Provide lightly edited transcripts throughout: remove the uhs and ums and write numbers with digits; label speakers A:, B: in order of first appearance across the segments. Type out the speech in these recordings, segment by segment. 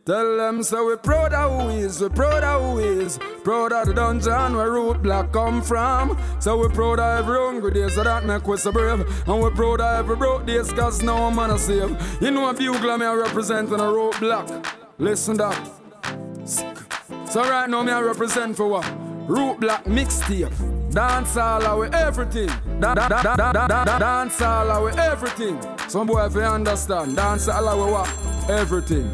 A: Tell them so we proud of who is, we proud of who is. Proud of the dungeon where Root Black come from. So we proud of every hungry day, so that make us so brave. And we proud of every broke days, cause no man a save. You know a bugler me a representing a Root Black. Listen that. So right now me a represent for what? Root Black mixtape. Dance all with everything. Dance all with everything. Some boy if you understand. Dance all with what? Everything.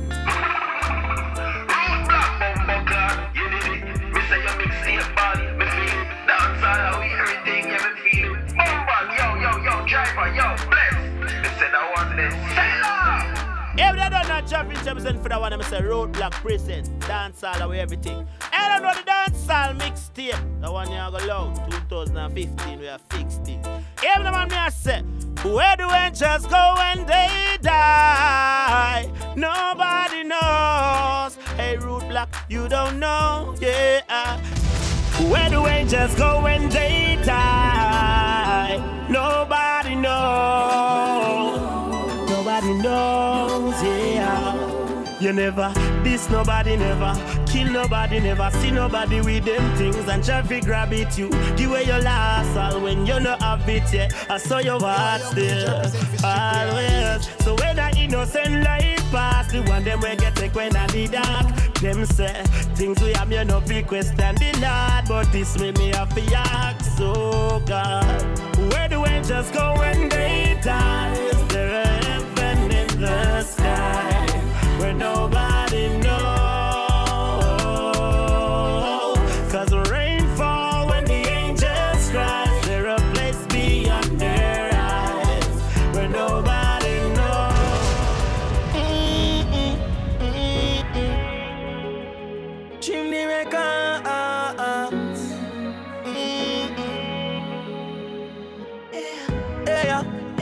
B: Every day done that champion represent for that one, I say Road Black present, dance all away everything. I don't know the dance all mixtape. The one you go loud, 2015 we are fixed it. Every man me I say, where do angels go when they die? Nobody knows. Hey Road Black, you don't know, yeah. Where do angels go when they die? Nobody knows. Nobody knows, yeah. You never diss nobody, never kill nobody, never see nobody with them things and traffic grab it you. Give away your last all when you not have it yet. I saw your heart still, always. So when I innocent life pass, the one them will get take when I need dark. Them say things we have you no be question the Lord, but this way me have to ask. So God, where do angels go when they die? Is there a heaven in the sky where nobody knows? Cause rain fall when the angels cry. Is there a place beyond their eyes where nobody knows? Chimney records. Yeah.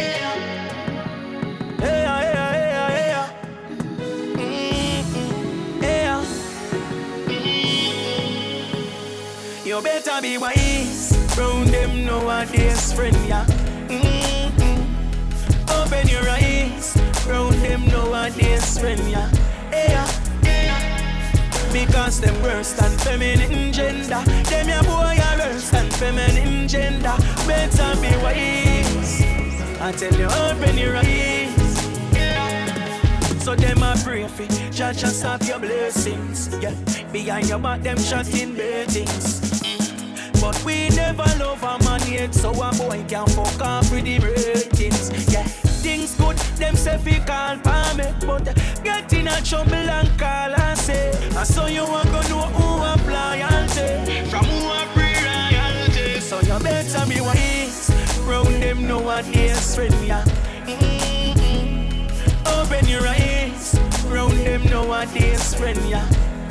B: You better be wise. Round them nowadays, friend, yeah. Open your eyes. Round them nowadays, friend, yeah. Because them worse than feminine gender. Them your boy are worse than feminine gender. Better be wise. I tell you, open your eyes. So them a pray for Jah stop your blessings. Yeah, behind your back them shotting beatings. But we never love a man yet, so a boy can fuck off with the ratings. Yeah, things good, them say fi call for me, but get in a trouble and call and say, I saw you want to know who apply loyalty from who a free royalty. So you better be wise. Round them nowadays, friend, yeah. Open your eyes. Round them nowadays, friend, yeah.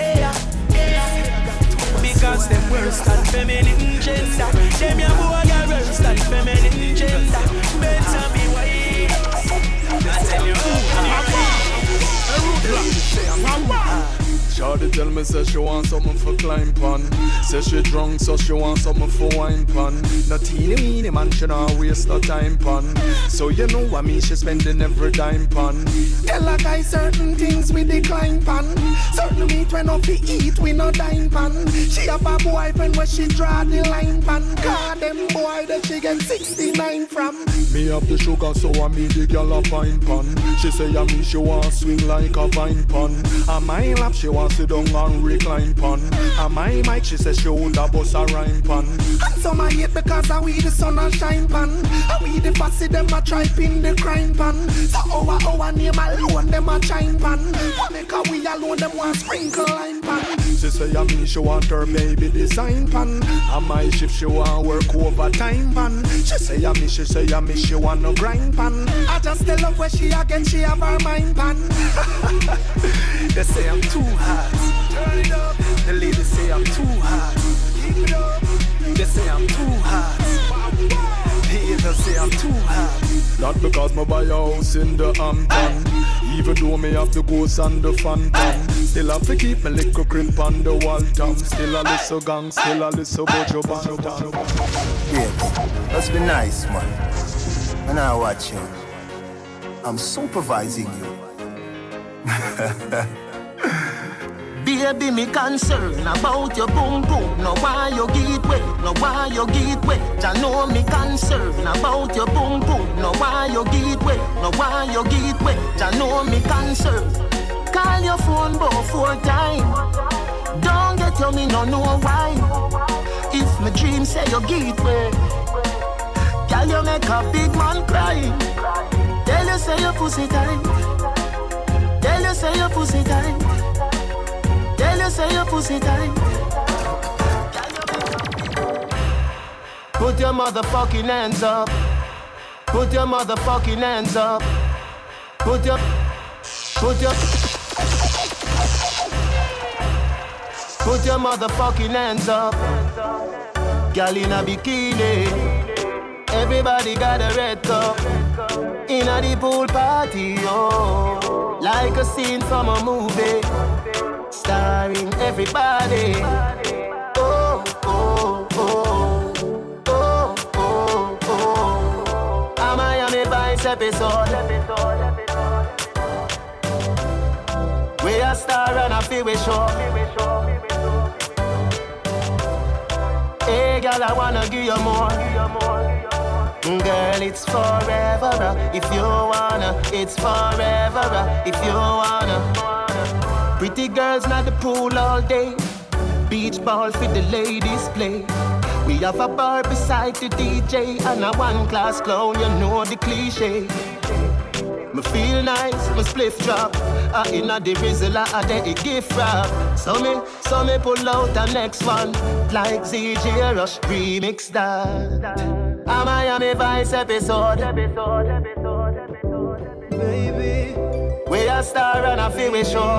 B: Because them worse than feminine gender. Them your boy are worse than feminine gender. Better be wise. I tell you,
A: Shawty tell me say she want something for climb pan. Say she drunk so she want something for wine pan. No teeny weeny man she not waste no time pan. So you know what me she spending every dime pan. Tell a guy certain things we decline pan. Certain meat when off we eat we no dine pan. She have a boyfriend where she draw the line pan. God them boy that she get 69 from. Me have the sugar so I me the girl a fine pan. She say me she want swing like a vine pan. On my lap she want sit down and recline pan. On my mic she says she would a bust a rhyme pan. And some I hate because I we the sun and shine pan. And we the fussy them a try pin the crime pan. So our name alone them a chime pan. What make a we alone them want sprinkle line pan. She say me she want her baby design pan. On my shift she want work overtime pan. She say me she want no grind pan. I just tell her where she again she have her mind pan. They say I'm too hot. Turn it up. The ladies say I'm too hot. Keep it up. They say I'm too hot. The haters say I'm too hot. Not because my buy a house in the Hampton. Even though me have the ghost and the phantom. Still have to keep my little crib on the wall top. Still a little gang, still a little bojo bantan.
C: Yeah, let's be nice, man. And I watch you. I'm supervising you. Baby, me concern about your boom boom. No why you get wet, no why you get wet. I know me concern about your boom boom. No why you get wet, no why you get wet. I know me concern. Call your phone about 4 times. Don't get to me, no know why. If my dream say you get wet, girl, you make a big man cry. Tell you say your pussy tight. Tell you say your pussy tight. Tell you say your pussy tight. Put your motherfucking hands up. Put your motherfucking hands up. Put your motherfucking hands up. Girl in a bikini. Everybody got a red cup. In a the pool party, oh. Like a scene from a movie. Starring everybody. Oh, oh, oh. Oh, oh, oh. A Miami Vice episode. We a star and a feel we show. Hey girl, I wanna give you more. Girl, it's forever. If you wanna, it's forever. If you wanna. Pretty girls not the pool all day. Beach ball for the ladies play. We have a bar beside the DJ and a one-class clown, you know the cliche. Me feel nice, me spliff drop. Inna the rizzle, the gift wrap. So me pull out the next one, like ZJ Rush remix that. A Miami Vice episode. Baby, we a star and a feel we show.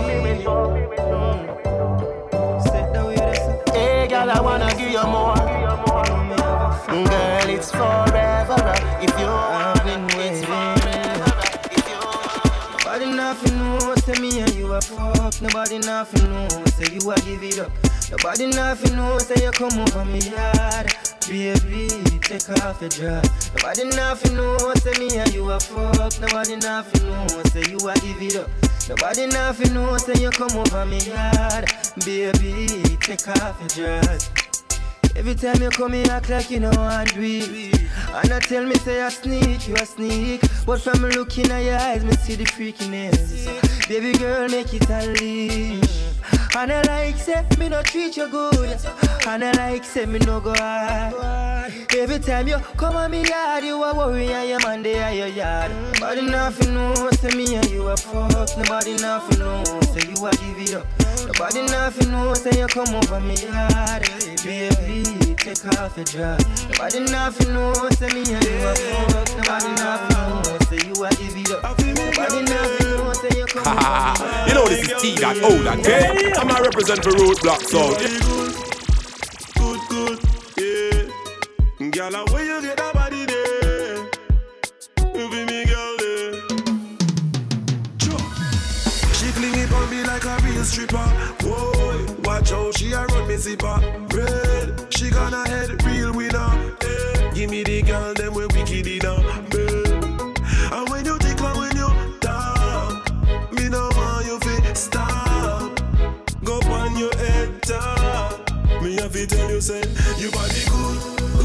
C: Hey girl, I wanna give you more. Girl, it's forever. If you want it, it's forever. Nobody nothing knows, say me and you a fuck. Nobody nothing knows, say you a give it up. Nobody nothing knows, say you come over me yard. Baby, take off your dress. Nobody nothing knows, say me and you a fuck. Nobody nothing knows, say you a give it up. Nobody nothing knows, say you come over me yard. Baby, take off your dress. Every time you come here, act like you know I do it. And I tell me, say I sneak, you a sneak. But from looking at your eyes, me see the freakiness. Baby girl, make it unleash. And I like, say, me no treat you good. And I like, say, me no go hard. Every time you come on me yard, you a worry and your man they are your yard. Nobody nothing knows, say me and you a fuck. Nobody nothing knows, say you a give it up. Nobody nothing knows, say you come over me yard. Baby, take off your dress. Nobody nothing knows, say me and you a fuck. Nobody nothing knows, say you a give it up. Nobody nothing knows, say you come over me yard.
D: You know this is T that old that okay? I'm a represent for Roadblock Sound.
E: Good, yeah. Girl, where you get that body there? You be me girl there. She fling it on me like a real stripper. Whoa, watch how she a run me zipper. Red, she gonna head real winner. Yeah. Give me the girl them when we kill it down. And when you tickle, when you talk, me no want you fi stop. Go on your head top. Me have to tell you say you body good,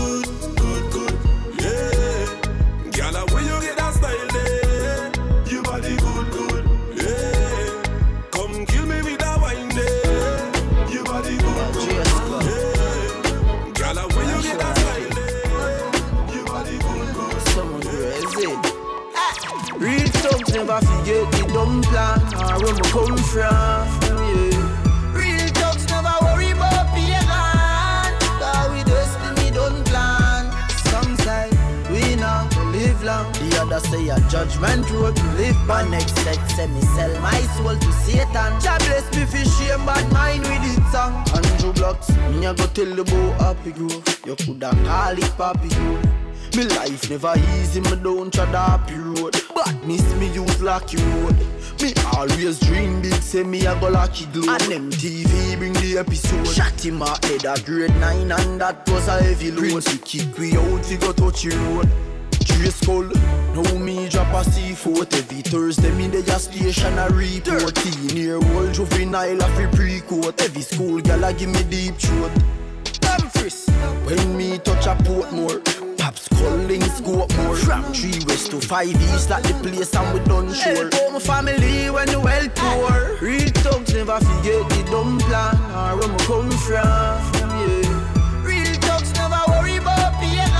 E: yeah. Girl, when you get that style there, you body good, yeah. Come kill me with that wine there, you body good, yeah. Girl, when you get that style there, you body good.
C: Someone crazy. Real thugs never forget the dumb plan or where we come from, yeah. Real thugs never worry about being gone, cause we destiny don't plan. Some say we not to live long, the other say a judgment road to live by. Next set say me sell my soul to Satan. Jah bless me for shame bad mind with it song. Andrew Blocks, me a go tell the boy Happy Grove. You coulda call it Papi Grove. Me life never easy, me don't tread happy road. Badness me use lucky road. Me always dream big, say me a go lucky glow. And MTV bring the episode. Shot him a head a grade 9 and that was a heavy load. Prince we kick we out, we go touch the road. Trace skull. Now me drop a C4 every Thursday. Me the station a report. Near old juvenile a free pre-court. Every school gal a give me deep throat. Damn fris. When me touch a Portmore, Pops calling scope more. From 3 west to 5 east like the place and we done sure. Help out my family when the well poor. Real thugs never forget the dumb plan or where me come from, yeah. Real thugs never worry about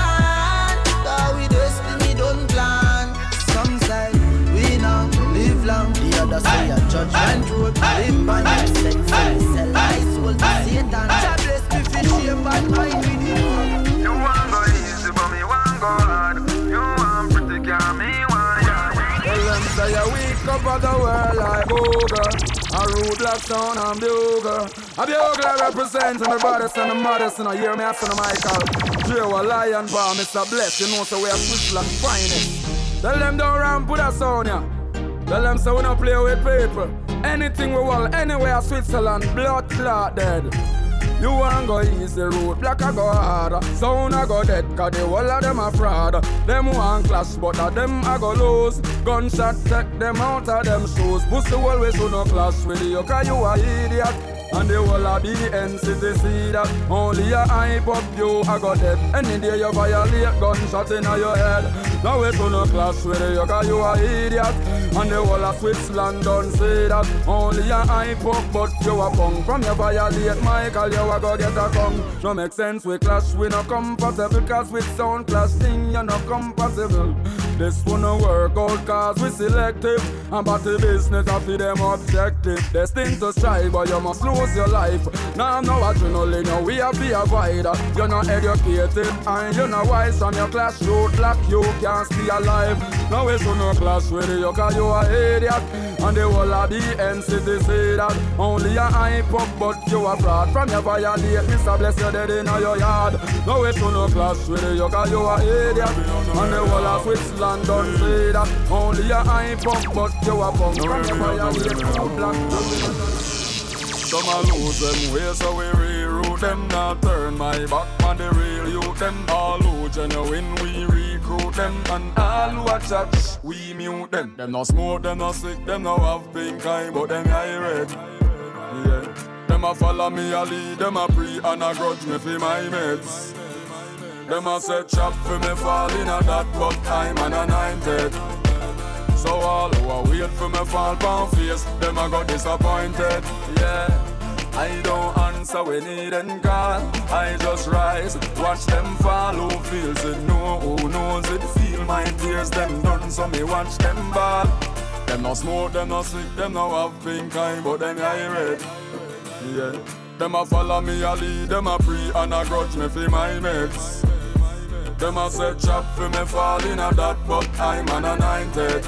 C: pain. Cause we destiny don't plan. Some say we now live long. The other say a judgment road. Live by your sense. Sell my soul to Satan. God bless me for shame bad mind with you.
F: You want go easy but me want go hard. You want pretty girl, me want yard.
A: Well, them say we cover the world like Boga. A rude black sound and Bugle. A Bugle representing the baddest and the maddest. And I hear me after the Michael. Joe, a lion bar, Mr. Bless. You know, so we are Switzerland finest. Tell them don't ramp with us on ya. Tell them so we don't play with people. Anything we want, anywhere Switzerland, blood clot dead. You want go easy road, black I go hard. Sound I go dead, cause the whole of them are fraud. Them want clash, but of them I go lose. Gunshot take them out of them shoes. Pussy always do no clash with you, cause you a idiot. And the whole of the NCT see that. Only a hype up you, I go dead. Any day you violate, gunshot in your head. Now it's no clash with you, cause you a idiot. And the whole of Switzerland don't say that. Only a hype up, but you a punk. From you violate Michael, you a go get a gun. No make sense, we clash, we no compatible. Cause with sound clash thing, you no compatible. This one no work out cause we selective. And but the business I feel them objective. Destined to strive, but you must lose your life. Now I'm no adrenaline, no we have to avoid. You're not educated and you're not wise. From your class road black, you can't stay alive. Now it's no clash with you cause you are idiot. And the whole of the NCT say that. Only a hype up but you are fraud. From your violate, Mr. Bless you dead in your yard. Now it's no clash with you cause you are idiot. And the whole of Switzerland don't say that. Only a hype up but you are punk. From your violate, you black. Some a lose them way, so we reroute them. Not turn my back on the real youth. Them all who genuine, we recruit them. And all who a chat, we mute them. Them no smoke, them no sick, them no have pink eye, but them eye red. Yeah. Them a follow me a lead, them a pre and a grudge me for my meds. Them a set trap for me fall in a that, but I'm an anointed. So all who are wait for me fall down face, them a got disappointed. Yeah, I don't answer when need and call. I just rise, watch them fall. Who feels it, know who knows it. Feel my tears, them done, so me watch them ball. Them no smoke, them no sick, them no have pink eye, but them eye red. Yeah, them a follow me a lead, them a pre and a grudge me for my meds. Them a set trap for me fall in a that, but I'm an anointed.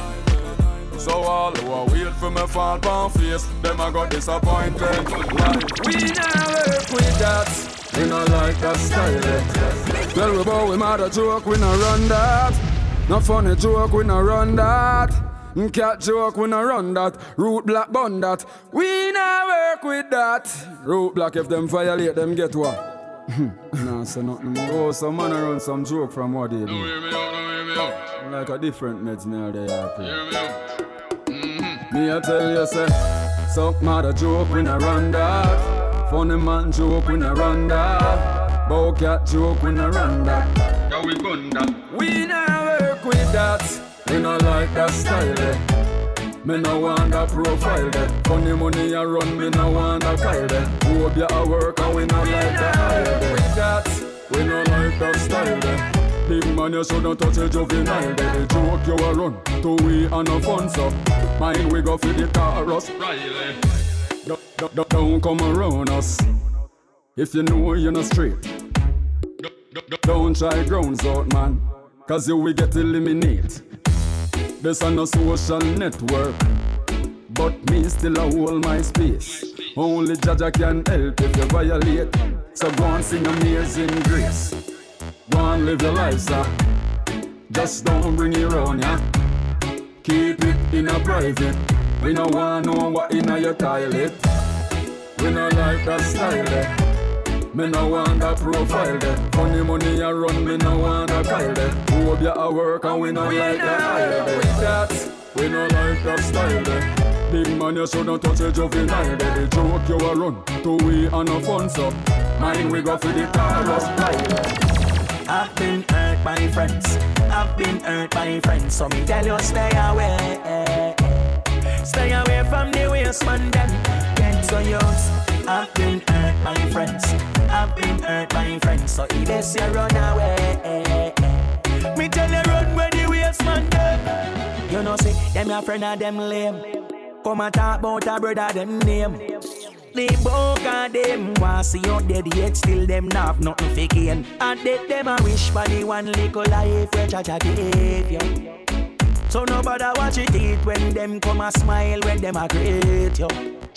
A: So all who are wait for me fall down face, them a got disappointed. Like, we not work with that, we not like that style. Tell we bout we mad a joke, we not run that. Not funny joke, we not run that. Cat joke, we not run that. Root black bun that, we not work with that. Root black if them violate, them get what? Nah, say nothing more. Oh, some man run some joke from what they do. No, hear me out. Like a different meds now they are play. Hear me out. Me I tell you say, suck mad a joke when I run that. Funny man joke when I run that. Bow cat joke when I run that. Yeah, we gun that. We not work with that. We not like that style eh. Me no want that profile there. Funny money I run, me no want that file there. Hope you a work and we not like that hire there. With that, we no like that style there. Big man you shouldn't touch a juvenile there. The joke you a run, to we and no fun so. Mine we go for the Taurus Riley. Don't come around us if you know you're not straight. Don't try grounds out man, cause you will get eliminated. This a no social network, but me still a hold my space. Only Jaja can help if you violate. So go and sing Amazing Grace. Go and live your life, sir. Just don't bring it round, yeah. Keep it in a private. We no want know what in a your toilet. We no like that style, eh. Me no want that profile there. Funny money I run, me no want that Kyle there. Hope you a work and we no like that hire there. Cats, we no like that style there. Big man, you shouldn't touch a juvenile there. The joke you a run, to we and no fun so. Mine we go for the chorus style.
C: I've been hurt by friends. I've been hurt by friends. So me tell you stay away. Stay away from the waste man them. Get so yours. I've been hurt by friends. I've been hurt by friends. So if they say run away, me tell you run where the waste man them. You know see them your friend and them lame. Come and talk about a brother them name. They both got them want see you dead yet still them not have nothing for gain. And they them a wish for the one little life where Jaja gave you. So nobody watch it eat when them come a smile when them a greet you.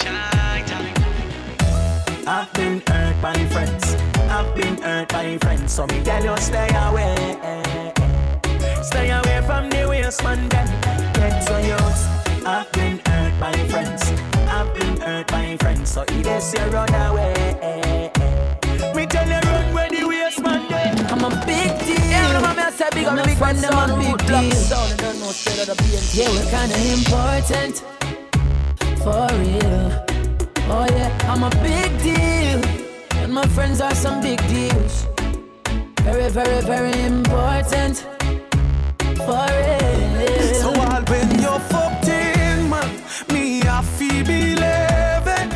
C: I've been hurt by friends. I've been hurt by friends. So me tell you stay away. Stay away from the waste man them. Get so yours. I've been hurt by friends. I've been hurt by friends. So if they say run away, me tell you run where the waste man them. I'm a big deal. Yeah, I'm a say big. I'm a big friend. I'm a big deal. Yeah, we're kinda important. For real. Oh yeah, I'm a big deal. And my friends are some big deals. Very, very, very important. For real.
G: So all when you're fucked in, man, me I feel believe it.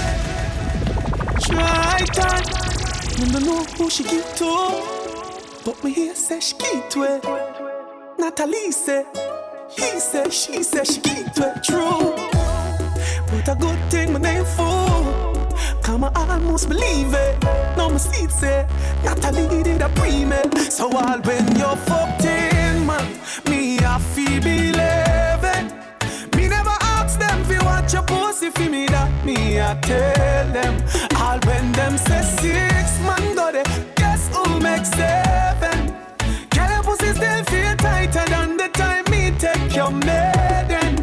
G: Try time. You don't know who she get to, but me here say she get to it. Natalie say, he say, she say she get to it. True. But a good thing my name for. Come I almost believe it. No my seat say Natalie did a pre-med. So all when you're fucked in, man, me I feel believe it. Me never ask them if you watch your pussy for me that me I tell them. All when them say 6 man got it. Guess who makes 7? Girl your pussy still feel tighter than the time me take your maiden.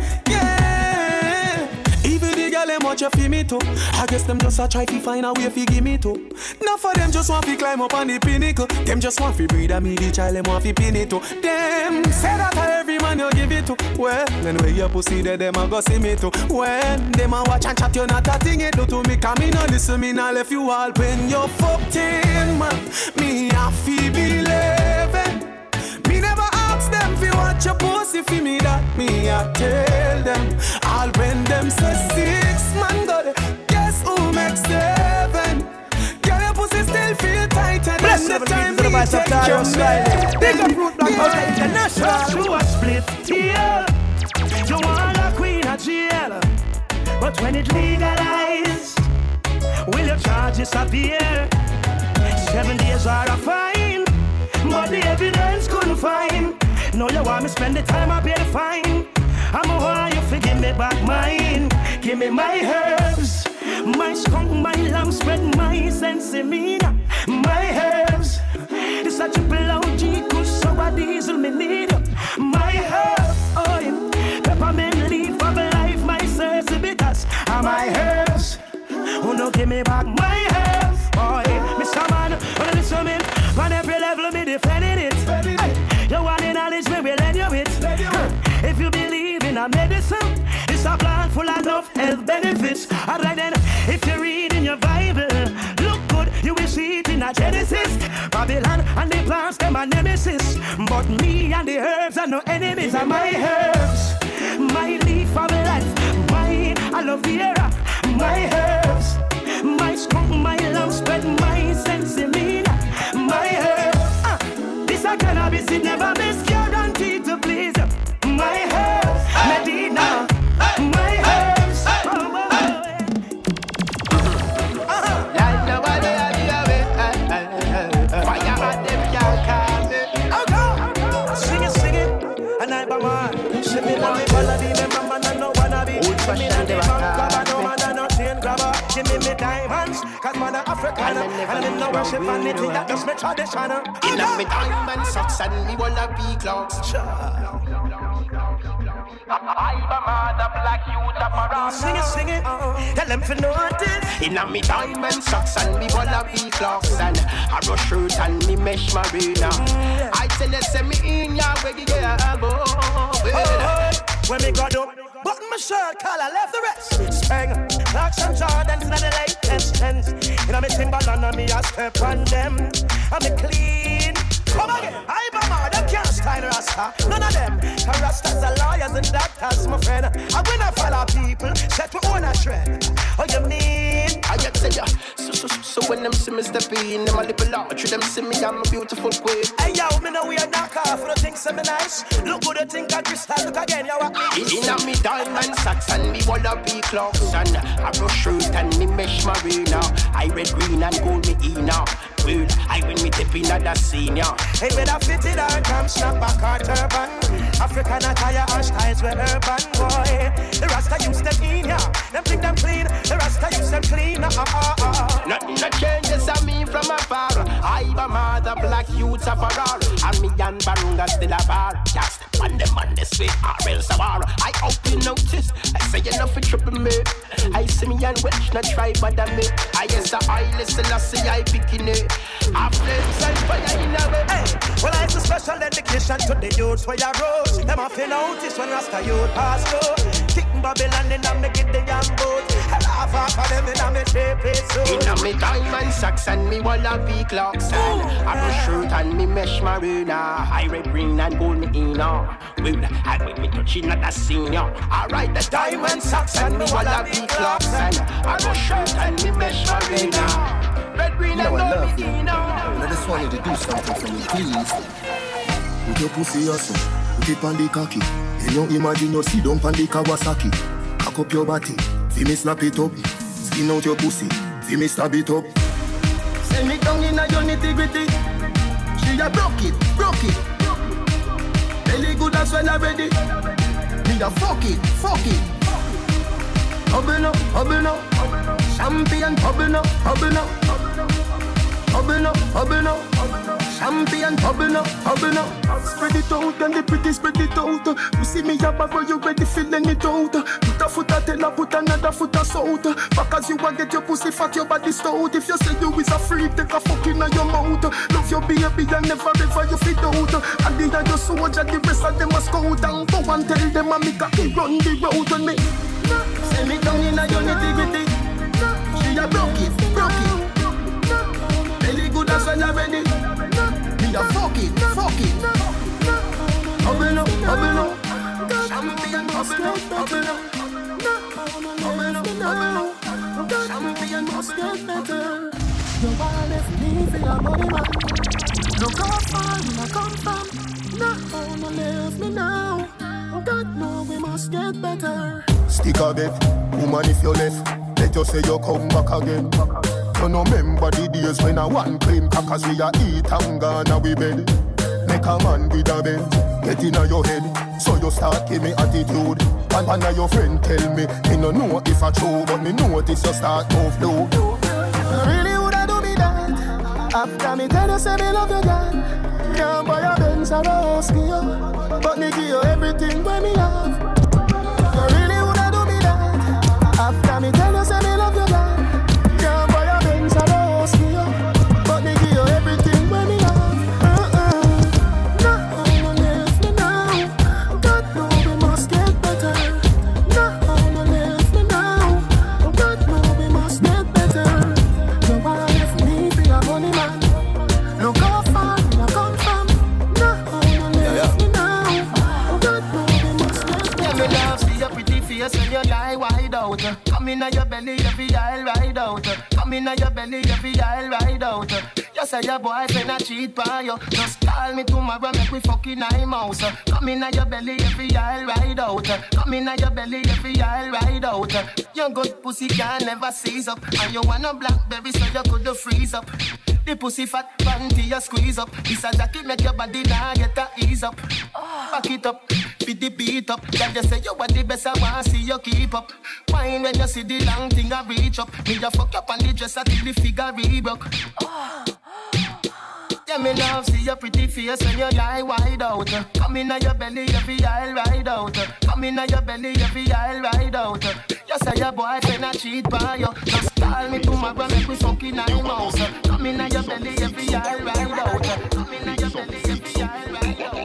G: Them watch you feel me too. I guess them just a try to find a way fi give me too. Now for them just want fi climb up on the pinnacle. Them just want fi breed and me the child them want fi pin it too. Them say that every man you give it to. Well, then where your pussy there them a go see me too. When them a watch and chat you not a thing it do to me. Cause me no listen me no left you all when you fucked in man. Me a fi believe it. Me never ask them fi watch your pussy fi me that me a tell them. All when them say 6 man got it. Guess who makes 7? Girl your pussy still feel tighter than the time me take your man.
C: Big up Root Black House International.
H: You a split deal. You want a queen of jail. But when it legalized, will your charges appear? 7 days are a fine, but the evidence couldn't find. No, you want me spend the time I pay the fine. I'm a want you to give me back mine. Give me my herbs, my skunk, my lamb spread, my sensimina, my herbs. It's a triple OG, kush, sour diesel, me need my herbs. Oh, yeah. Peppermint leaf of life, my Cersei bitters, and my herbs. Oh, no, give me back my herbs. Oh, yeah. Mr. Man, wanna listen me? On every level, me defending it. Hey. You want the knowledge, me will lend you it. If you believe in a medicine, it's a plant full of enough health benefits. Alright then, if you read in your Bible, look good, you will see it in a Genesis. Babylon and the plants, them are nemesis. But me and the herbs are no enemies. Are my herbs, my leaf of life, my I love the era, my herbs, my skunk, my lamb spread, my sensimina, my herbs. This a cannabis, it never miss, guaranteed to please. My herbs, Medina, my herbs.
C: Like nobody had the way. Fire at them can't call me.
H: Sing it, and I be man. She me love me melody, me mama no wanna be. She me love the bank grabber, no man no chain grabber. Give me diamonds, 'cause man a African, and I no worship anything that just me traditional.
C: In a me diamond socks and me wanna be clocks.
H: I'm a mother black youth of around. Sing it. Tell them for notice.
I: Inna me diamond socks and me wallaby clocks and a rush shirt and me mesh marina. I tell you, send me in ya where you get
H: when me got up, button my shirt collar, left the rest. Spang, Clarks and Jordans in the late 10s. Inna me Timberland and me a step on them. I'm a clean. Come again, I'm a man, I can't style Rasta. None of them, cause Rastas are lawyers and doctors, my friend. I when I follow people, set to own a trend. Oh, you mean?
I: I get to ya. So when them see me step in, them a little large. Them see me, I'm a beautiful queen.
H: Hey yo, me know we are knock off. You think so me nice? Look good, you think I crystal. Look again, you what me?
I: Inna me diamond socks and me wallaby clocks and a rush shirt and me mesh marina. I red, green and gold me inna. Well, I win me tip in the senior.
H: Hey, better fit it or come snap back or turban. African attire and styles with urban boy. The Rasta use them in ya. Them think them clean. The Rasta use them clean.
I: Nothing that changes on me from afar. I'm a mother, black youths of a roar. And me and Barunga still a bar. Just on them on this way, or else a war. I hope you notice. I say enough for triple me. I see me and Welsh not try bother me. I guess I listen, I see I picking it. I flames and fire in a way.
H: Hey, well it's a special dedication to the youths for your roads. Them have to notice when Rasta youth pass through. Kicking Babylon in a me get the young boat. And half of them in a me shape it so.
I: Inna me diamond socks and me wallaby clocks and a rush shirt and me mesh marina. I red, green and gold me inna. Well, I with me touching at the senior. I ride the diamond socks and me wallaby clocks and a rush shirt and me mesh marina. Red, green and gold me inna.
J: I just want you to do something for me, please. Put your pussy also, put it on the cocky. And you imagine you sit down on the Kawasaki. Cock up your body, see me snap it up. Skin out your pussy, see me stab it up.
C: Send me down in a your nitty-gritty. She a broke it. Belly good as well already. Me a fuck it. Hubble up. Champion, hubble up. Champion, hubble up.
G: Spread it out, and the pretty spread it out. You see me up, but you ready feeling it out. Put a foot a tell put another foot a south. Back as you a get your pussy fat, your body stout. If you say you is a freak, take a fuck in your mouth. Love your baby and never ever you fit out. And the other soldier, the rest of them a scout. And go and tell them I make a kid run the road on me.
C: Send me down in a your nitty-gritty. She a broke it. Belly good as well already. Me a fuck it. Hubble up. Champion, hubble up. Champion,
G: must get better. You wanna left me for your money, man. Look how far you come from. Now no leave me now. God know we must get better.
J: Stick a bet, woman if you left, let you say you come back again. You no remember the days when I one clean crackers we a eat and gone a we bed. Make a man with a bend, get inna your head, so you start give me attitude. And one of your friend tell me no know if I true, but me notice you start move low.
G: You really woulda do me that, after me tell you say me love you God. Can't buy a Benz or a house for you, but me give you everything when me have. You really woulda do me that, after me tell you say me love you God. Can't buy a Benz or a house for you, but me give you everything when me have. No leave me now. God know we must get better. No leave me now. God know we must get better. You wanna left me for your money, man. Look how far you come from. No leave me now. God know we must get better.
C: Me love see your pretty face when you lie wide out. Come inna your belly, every aisle ride out. Come inna your belly, every aisle ride out. You say your boyfriend a cheat by you. Just call me tomorrow, make we fucking I'm house. Come inna your belly, every aisle ride out. Come inna your belly, every aisle ride out. Your good pussy can never seize up, and you want a blackberry so you could freeze up. The pussy fat panty you squeeze up. This a jacket make your body now get a ease up. Back it up, fit the beat up. Then you say you are the best, I want see you keep up. Wine when you see the long thing I reach up. Me just fuck up on the dress until the figure re-broke. Yeah, me love see your pretty face when you lie wide out. Come inna your belly, every aisle ride out. Come inna your belly, every aisle ride out. You say your boyfriend a cheat by you. Just call me tomorrow, make we fuck in your mouth. Come in your belly every year, ride out. Come in your belly every year, ride out.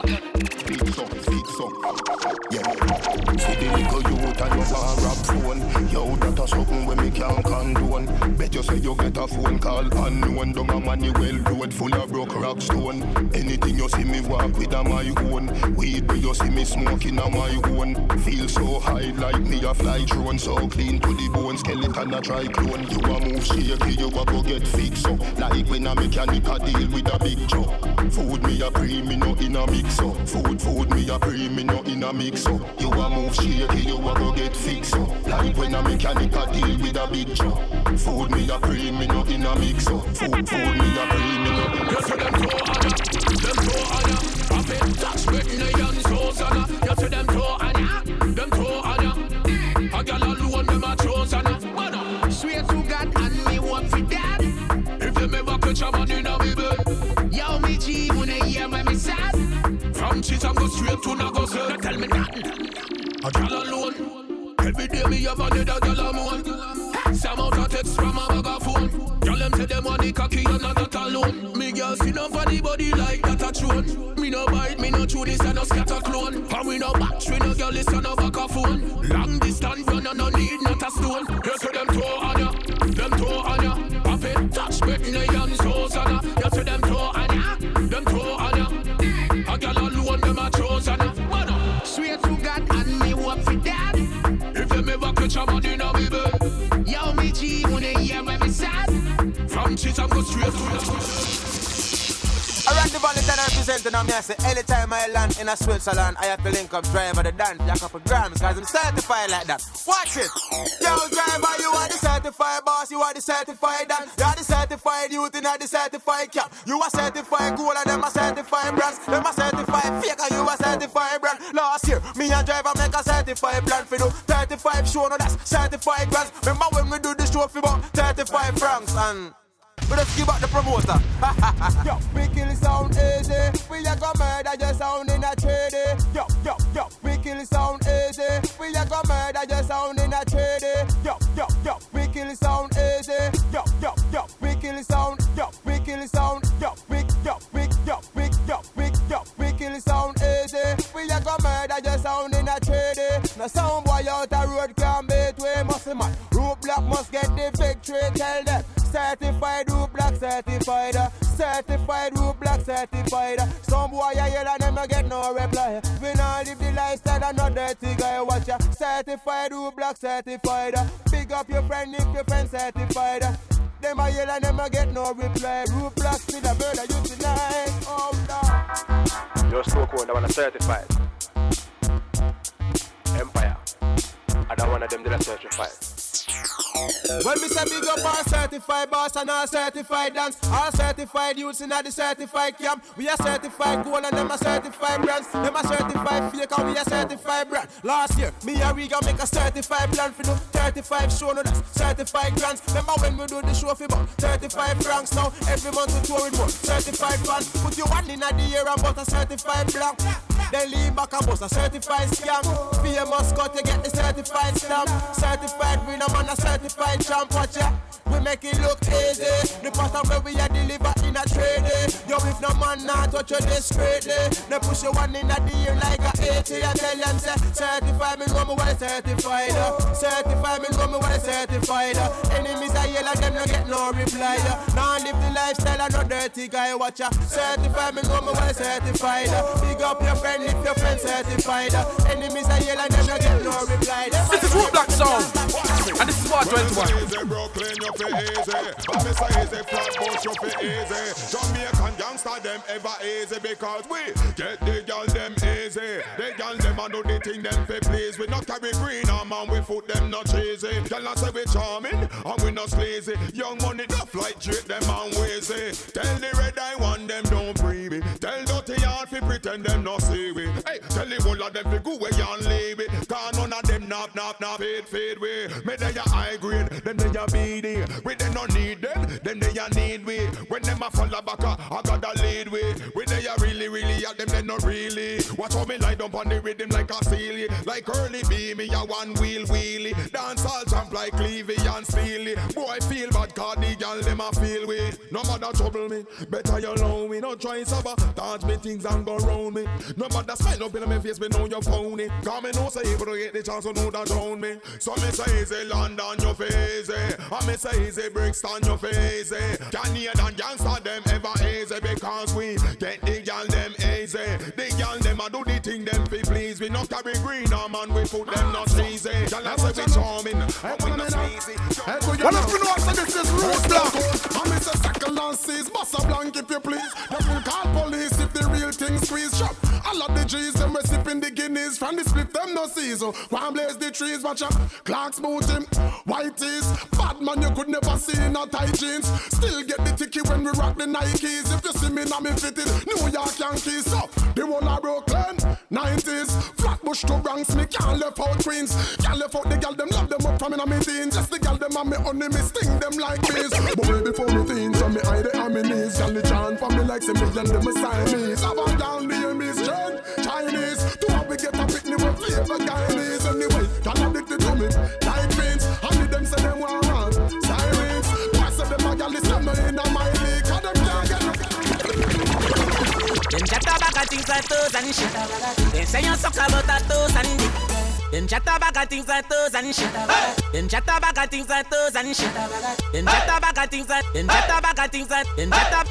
J: Fix up. Yeah. See the little youth and your bar rap phone. Yo, that a something when me can't condone. Bet you say you get a phone call unknown. Down a Manuel road full of broke rock stone. Anything you see me walk with a my own. Weed where you see me smoking a my own. Feel so high like me a fly drone. So clean to the bone, skeleton a try clone. You a move shaky, you a go get fixed up. Like when a mechanic a deal with a big truck. Food me a pre, me no in a mix up. Food me a pre, me no in a mix up. You a move shaky, you a go get fixed up. Like when a mechanic a deal with a big truck. Food me a pre, me no in a mix up. Food me a pre, me no in a mix up.
K: Them throw on ya, I been touch with the young souls on ya. You see them throw on ya, them throw on ya. A girl alone them a chose on ya. Swear to God and me work for that. If them ever catch a man in a me bed, yo me G when they hear my sad. From cheese I go straight to Nagosa. Don't tell me nothing. A girl alone. Every day me have another girl alone. Some out of text from a megaphone. Girl them say them money cocky and not that alone. Me girl see no funny body like that a throne. Me no bite, me no chew this and no scatter clone. And we no batch, we no girl listen no back a phone. Long distance run and no need not a stone. You see them throw on ya, them throw on ya. Pop it, touch me in the hands, so sana. You see them throw on ya, them throw on ya. A girl alone them a chosen ya. Swear to God and me work for that. If them ever catch a man in a me bed, yo me G when they hear me sad. From cheese I go straight to the.
L: Around the valley, then I representing on me. I say, anytime I land in a Switzerland, I have to link up driver the dance, a couple grams, cause I'm certified like that. Watch it! Yo, driver, you are the certified boss, you are the certified dance, you are the certified youth, and the certified cap. You are certified gold, and them are certified brands, them are certified fake, and you are certified brand. Last year, me and driver make a certified plan for do 35 show, no that's certified brands. Remember when we do the show for about 35 francs, and we just give up the promoter. Yo, we kill sound easy. We a go murder your sound in a trade. Yo, we kill sound easy. We a go murder your sound in a trade. Yo, we kill sound easy. Yo, we kill sound. Yo, we kill sound. Yo, we kill sound easy. We a go murder your sound in a trade. Now sound boy out the road can't beat way muscle man. Roadblock must get the victory. Tell them. Certified root black certified, certified root black certified. Some boy I yell and them get no reply. We not live the lifestyle and no dirty guy. Watch ya. Certified root black certified. Big up your friend if your friend certified. Them I yell and them get no reply. Root black still a murder you tonight. Oh no.
M: You're so cool. I wanna certified. Empire. I don't want them to certified.
L: When me say big up all certified boss and all certified dance, all certified youths in the certified camp. We are certified gold and them are certified brands. Them are certified fake and we are certified brand. Last year, me and Riga make a certified plan for do 35 show, no that's certified grants. Remember when we do the show for about 35 francs now. Every month we tour with more certified fans. Put your one in the year and bought a certified blank. Then lean back and bust a certified scam. Famous cut to get the certified stamp. Certified winner man a certified champ. Watch ya, we make it look easy. The pattern where we are deliver in a trade. Yo, if no man not touch you discreetly. They push you one in the year like a 80. I tell them say, certified me know me what I certified. Certified me know me what I certified. Enemies are yellow, them no get no reply. Now live the lifestyle and no dirty guy. Watch ya, certified me know me what I certified. Big up your friend if your friend certified. Enemies are yellow, them no get no reply.
N: This is Root Black Sound, and this is Part 21.
E: Brooklyn, you feel easy. But me say easy, Flatbush, you feel easy. Jamaican gangster, them ever easy because we get the girl them easy. The girl them a do the thing them fi please. We not carry green on man, we foot them not cheesy. Girl say we charming and we not sleazy. Young money not like treat them and wheezy. Tell the red eye one them don't free me. Tell dirty yard fi pretend them not see we. Hey, tell the whole of them fi go away and leave it. Cause none of them nap fade we. Me they a high grade, them they a BD. We they no need them they a need we. When them a follow back, I gotta lead we. We they a really at them they not really. Watch how me lie down on the rhythm like a seal. Like early B, me a one wheelie. Dance all
J: and steely. Boy feel bad, cause the girl them a feel way. No matter trouble me, better you alone me. No try sabotage me things and go round me. No matter smile up in my face, me know you found it. Cause me know say able to get the chance to know that drown me. So me say easy London your face, and me say easy Brixton your face. Canadian and gangsta them ever easy because we get the girl them easy. The girl them a do the thing them fi please. We not carry green on man, we put them not easy. Girl I say we charming, and we not sleazy.
O: Well if you know so this is Root Black, and me say second and seize, bust a blank if you please. You will call police if the real thing squeeze. Shop all of the G's them we sipping the Guinness from the split them no season. One blaze the trees, watch out. Clark's boot him, white tees. Bad man you could never see in a tight jeans. Still get the ticket when we rock the Nikes. If you see me now me fitted New York Yankees. So the one of Brooklyn 90s. Flatbush to Bronx, me can't left out Queens. Can't left out the gal them love them up from in a me teens. Just the gal them and me honey me sting them like bees. But way before me teens, so me hide the on me knees. Gal the chant for me like say me and them a Siamese. Have a gal name is Jen, Chinese. To have we get a picnic with flavor Guyanese. Anyway, gal addicted to me like beans. And them say them want run sirens. Why say them a gal is them no in a my league. Cause them can't get no.
P: Them chat about things like toes and shit. They say you suck about that toes and dick. Them chat about things like toes and shit. Them chat about things like toes and shit. Them chat about things like. Them chat about things like. Them chat about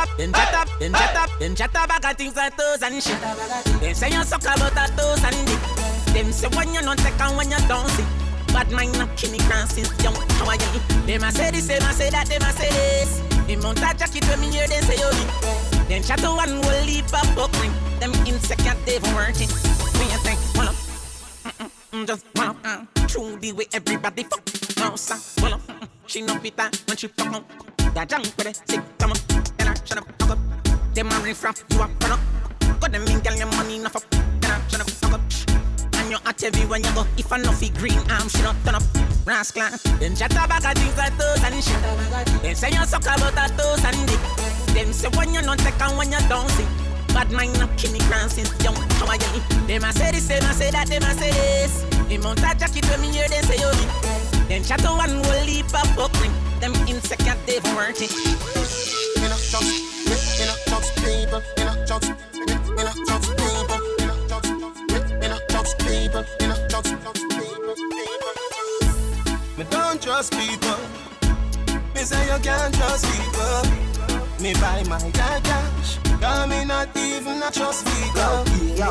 P: things like toes and shit. They say you suck about that toes and dick. Them say when you not take and when you don't see. Bad mind not killing since young. How are you? Them a say this, them a say that, them a say this. In mount a jacket when me hear them say yo. Them chat to one will leap up buckling. Them insecure they've working. When you think, well just well true the way everybody fuck. No sir, well she no fit that when she fuck up. That junk with it, sick come on. Then I shut up, fuck up. Them a riff raff, you up, run up. Got them in, girl, your money enough up. Then I shut up, fuck up. And you at every when you go. If I no fi green arm, she not turn up. Rascal. Them chat about things like toes and shit. Them say you suck about that toes and dick. Them say when you not take and when you don't see. Bad mind not killing since young. How are you? Them a say this, them a say that, them a say this. In mount a jacket when me hear them say yo. Them chat to one will leap up buckling. Them insecure they've working.
Q: In a jokes, in a jokes people, in a jokes, in a jokes people, in a jokes, in a jokes people, in a jokes people. Me don't trust people. Me say you can't trust people. Me buy my cash. Cause me not even a trust people. Yo,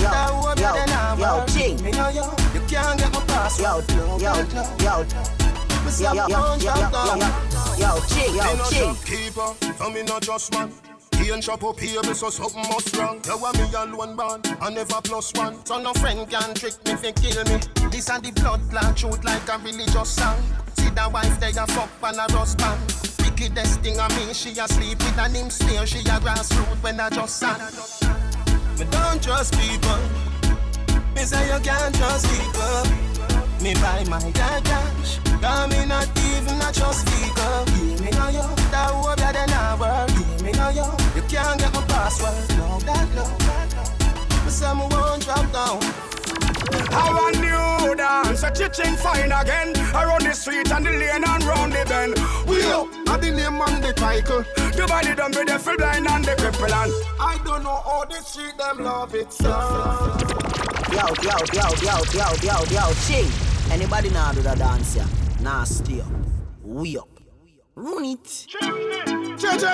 Q: King. Me know you can't get my password. Yo, King. Keeper, so me not trust man. He and shop up here, so something must wrong. You want me alone born, I never plus one. So no friend can trick me, fi kill me. This and the blood clot shoot like a religious song. See the wife they a fuck and a rust band. Wickedest thing of me, she a sleep with an him stare. She a grassroot when I just sang. Me don't trust people. Me say you can't trust people. Me buy my cash. Cause me not even a trust people. Me know you, that hope you then I work. Me know you can't get my password. No, that no. Me say me won't drop down.
H: How a new dance, a chicken fine again. Around the street and the lane and round the bend. We up at the name and the title. The body done with the full blind and the cripple and
Q: I don't know how the street them love it so.
C: Yo, Ching. Anybody now do the dance here? Nah, stay up. We up. Run it.
H: Ching.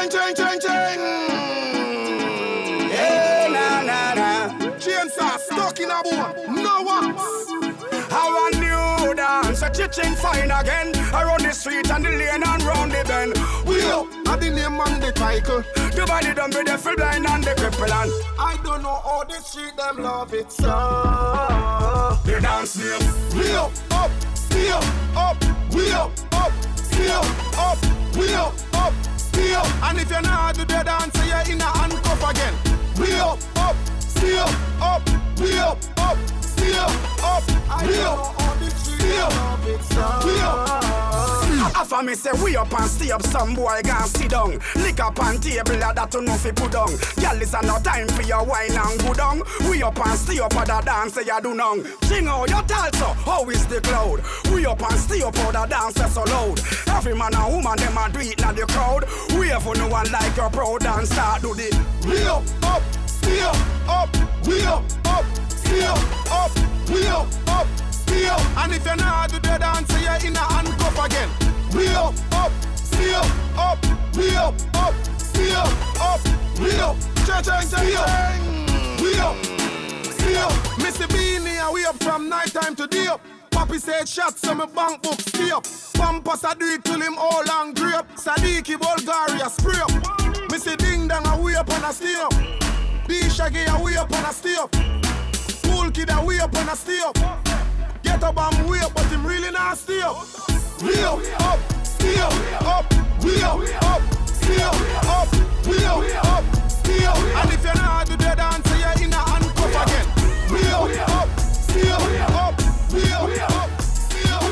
H: Hey, na. Chainsaw stuck in a bone. No wax. How a new dance, a chicken fine again. Around the street and the lane and round the bend. We up at the name and the title. The body done with the full blind and the cripple and
Q: I don't know how the street them love it so.
H: The dance name. We up, still up. We up, still up. We up, still. And if you're not do the dance, you're in a handcuff again. We up, still up. We up, still up. We up, still. We up. Half
R: For me say we up and stay up, some boy gon' sit down. Lick up on table that you know fi put down. Girl, this a no time for your wine and go down. We up and stay up at the dance you do now. Sing out your talso, how is the cloud? We up and stay up at the dance so loud. Every man and woman them a do it na the crowd. We have no one like your proud and start do the.
O: We up, stay up, we up, stay up, we up, stay up.
R: And if you're not do the dance, you're in a handcuff again.
O: We up, stay up, we up, stay up, we up, stay up, we up, stay up.
R: Missy Beanie and we up from night time to day up. Papi said shots so my bank book stay up. Pampas I do it till him all and grape. Sadiki Bulgaria spray up. Missy Ding Dang and we up and I stay up. D Shaggy and we up and I stay up. Cool Kid and we up and I stay up. Get up and we up but him really not stay up.
O: We up, stay up, we up, stay up, we up, stay up.
R: And if you're not do the dance, you're in a handcuff again.
O: We up, stay up, we up, stay up,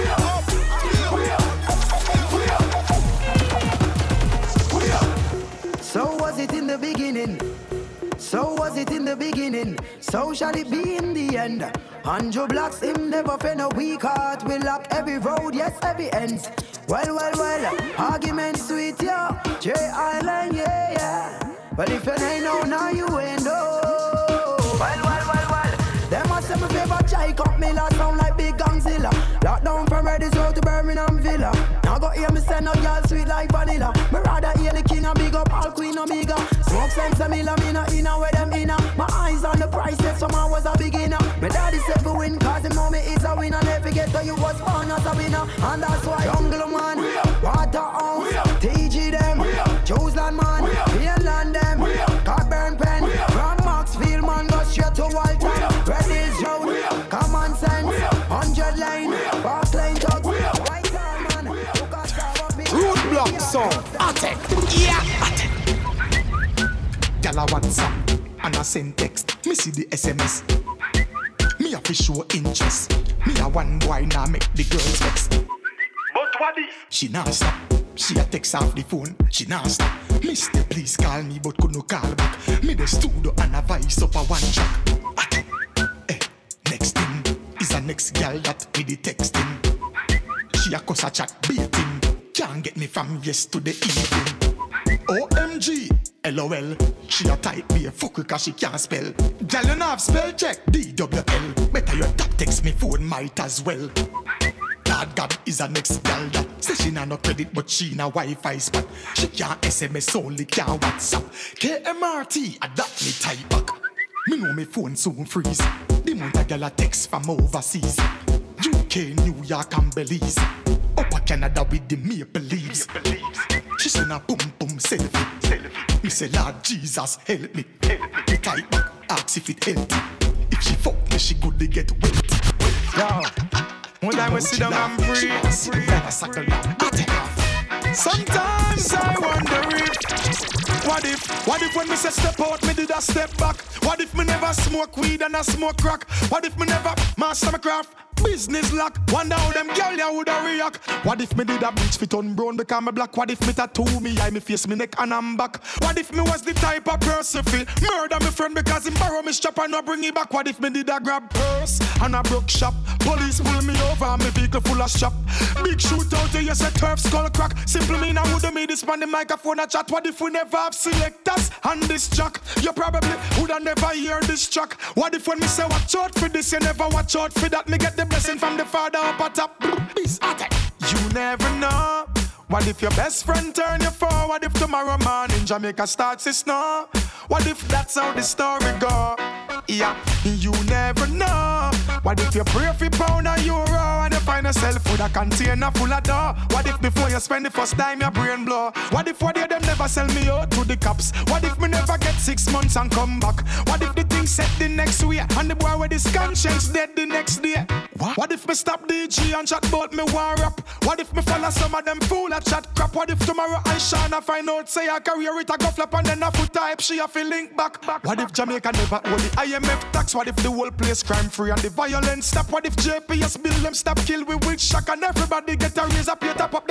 C: So was it in the beginning? So was it in the beginning? So shall it be in the end? Andrew Blacks him never fend a weak heart. We lock every road, yes, every ends. Well, argument sweet, yeah. J Island, yeah. But if you ain't know, now you ain't know. Well. Them a say me favorite chai cup me la sound like big gangzilla. Lock down from Redis Road to Birmingham Villa. Now go hear me say no y'all sweet like vanilla. Me rather hear the king and big up all queen Omega. Smoke sense a milla, me no inna where them inna. My eyes on the price, if someone was a beginner. My daddy said go win cause him know me is a winner. Never get to you was born as a winner. And that's why Jungle Man, Waterhouse, TG them, Joesland man, Mainland them, Cockburn Pen, from Maxfield man go straight to Walton. Red Hills Road, Common Sense, 100 Lane, Park Lane Tugs, White Town man,
S: Roadblock song, Attack, yeah, Attack. Gala WhatsApp, and I send text, me see the SMS. Me have to show interest. Me a one boy now make the girls vex.
R: But what is?
S: She nah stop. She a text off the phone. She nah stop. Mister, please call me, but could no call back. Me the studio and a voice up a one track. Next thing is a next girl that with the texting. She a cuss a chat beating. Can't get me from yes to the evening. OMG, LOL. She a type be a fucker cause she can't spell. Girl you have spell check DWL. Better your tap text me phone might as well. God is a next girl that say she nah no credit but she na Wi-Fi spot. She can't SMS only can't WhatsApp. KMRT adapt me type back. Me know me phone soon freeze. The month a girl a text from overseas. UK, New York and Belize. Upper Canada with the maple leaves. She send a boom boom selfie. Me say Lord Jesus help me. Me type back, ask if it healthy. If she fuck me she good to get wet.
R: Yo, one time we sit down and breathe. Sometimes I wonder if What if when me say step out, me did a step back? What if me never smoke weed and I smoke crack? What if me never master my craft? Business lock. Wonder how them girl ya woulda react. What if me did a bleach fit on brown because me black? What if me tattoo me eye, me face, me neck and I'm back? What if me was the type of person fi murder me friend because him borrow me strap and no bring it back? What if me did a grab purse and a broke shop? Police pull me over and me vehicle full of shop. Big shootout, you say turf skull crack. Simple mean I woulda made this man the microphone a chat. What if we never have selectors on this track? You probably woulda never hear this track. What if when me say watch out for this, you never watch out for that? Me get the blessing from the Father up at top. You never know. What if your best friend turn you forward? If tomorrow morning Jamaica starts to snow? What if that's how the story go? Yeah, you never know. What if you pray for pound or euro and you find yourself with a container full of dough? What if before you spend the first time your brain blow? What if one day them never sell me out to the cops? What if me never get 6 months and come back? What if the thing set the next way and the boy with his conscience dead the next day? What if me stop DJ and chat about me war rap? What if me follow some of them fool at chat crap? What if tomorrow I shine and find out say her career it a go flop and then a foot type she a feel link back? What if Jamaica never hold the IMF tax? What if the whole place crime free and the violence stop? What if JPS bill them stop kill we with shock and everybody get a raise up plate up them little cash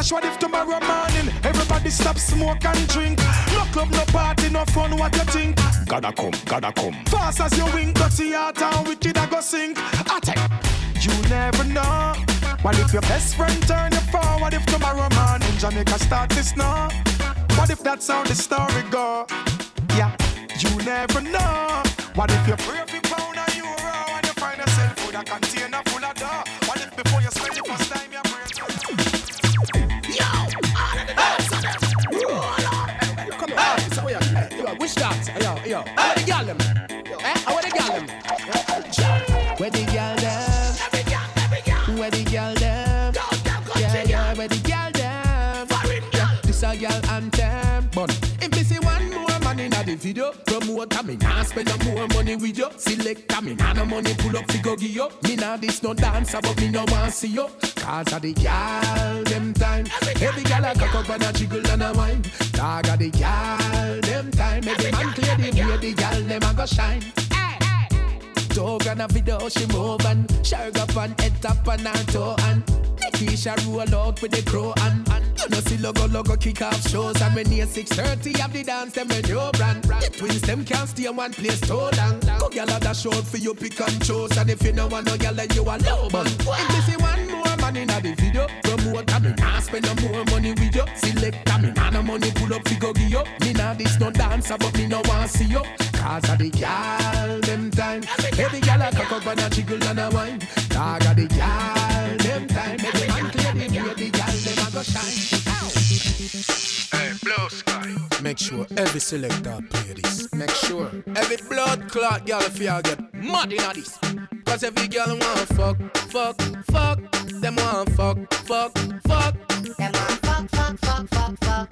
R: Gosh, what if tomorrow morning everybody stop smoke and drink? No club, no party, no fun, what you think? Gotta come. Fast as you wink, dirty heart and wicked I go sink. Attack. You never know. What if your best friend turn you for? What if tomorrow morning Jamaica start to snow? What if that's how the story go? Yeah, you never know. What if you pray for pound and euro and you find yourself with a container full of dough? What if before you spend the first time you pray?
H: Yo, all of the dance on them. Come on, so yo, which dance? Yo, where the girl them? Where the girl them? Where the girl them? Where the girl them? Yeah, where the girl them? This a girl anthem. If me see one more man inna the video, promote me nah spend no more money with you. Select me nah no money pull up fi go give you. Me nah this no dancer but me no want see you. Cause of the girl them time. Every girl a cock up and a jiggle and a wine. Dog of the girl them time. Every man clear the way the girl them a go shine. Dog and a video she move and shag up and head top and her toe and Keisha roll out with the crow and you know see logo kick off shows and when near 6:30 have the dance them with your brand. The twins them can't stay in one place too long. Go gyal a dash out for you pick and choose and if you no want no gyal then you a low man. If me see one more man inna the video, promote me nah spend no more money with you. Select me nah no money pull up fi go give you. Me nah this no dancer but me no want see you. Cause of the gyal them time. Every gyal a cock up and a jiggle and a wine. Dog of the gyal them time. Every man clear the way the gyal them a go shine.
K: Hey, Blue Sky.
H: Make sure every selector play this. Make sure every blood clot gyal feel get mad inna this. Cause every gyal want fuck. Them want fuck. Them want fuck.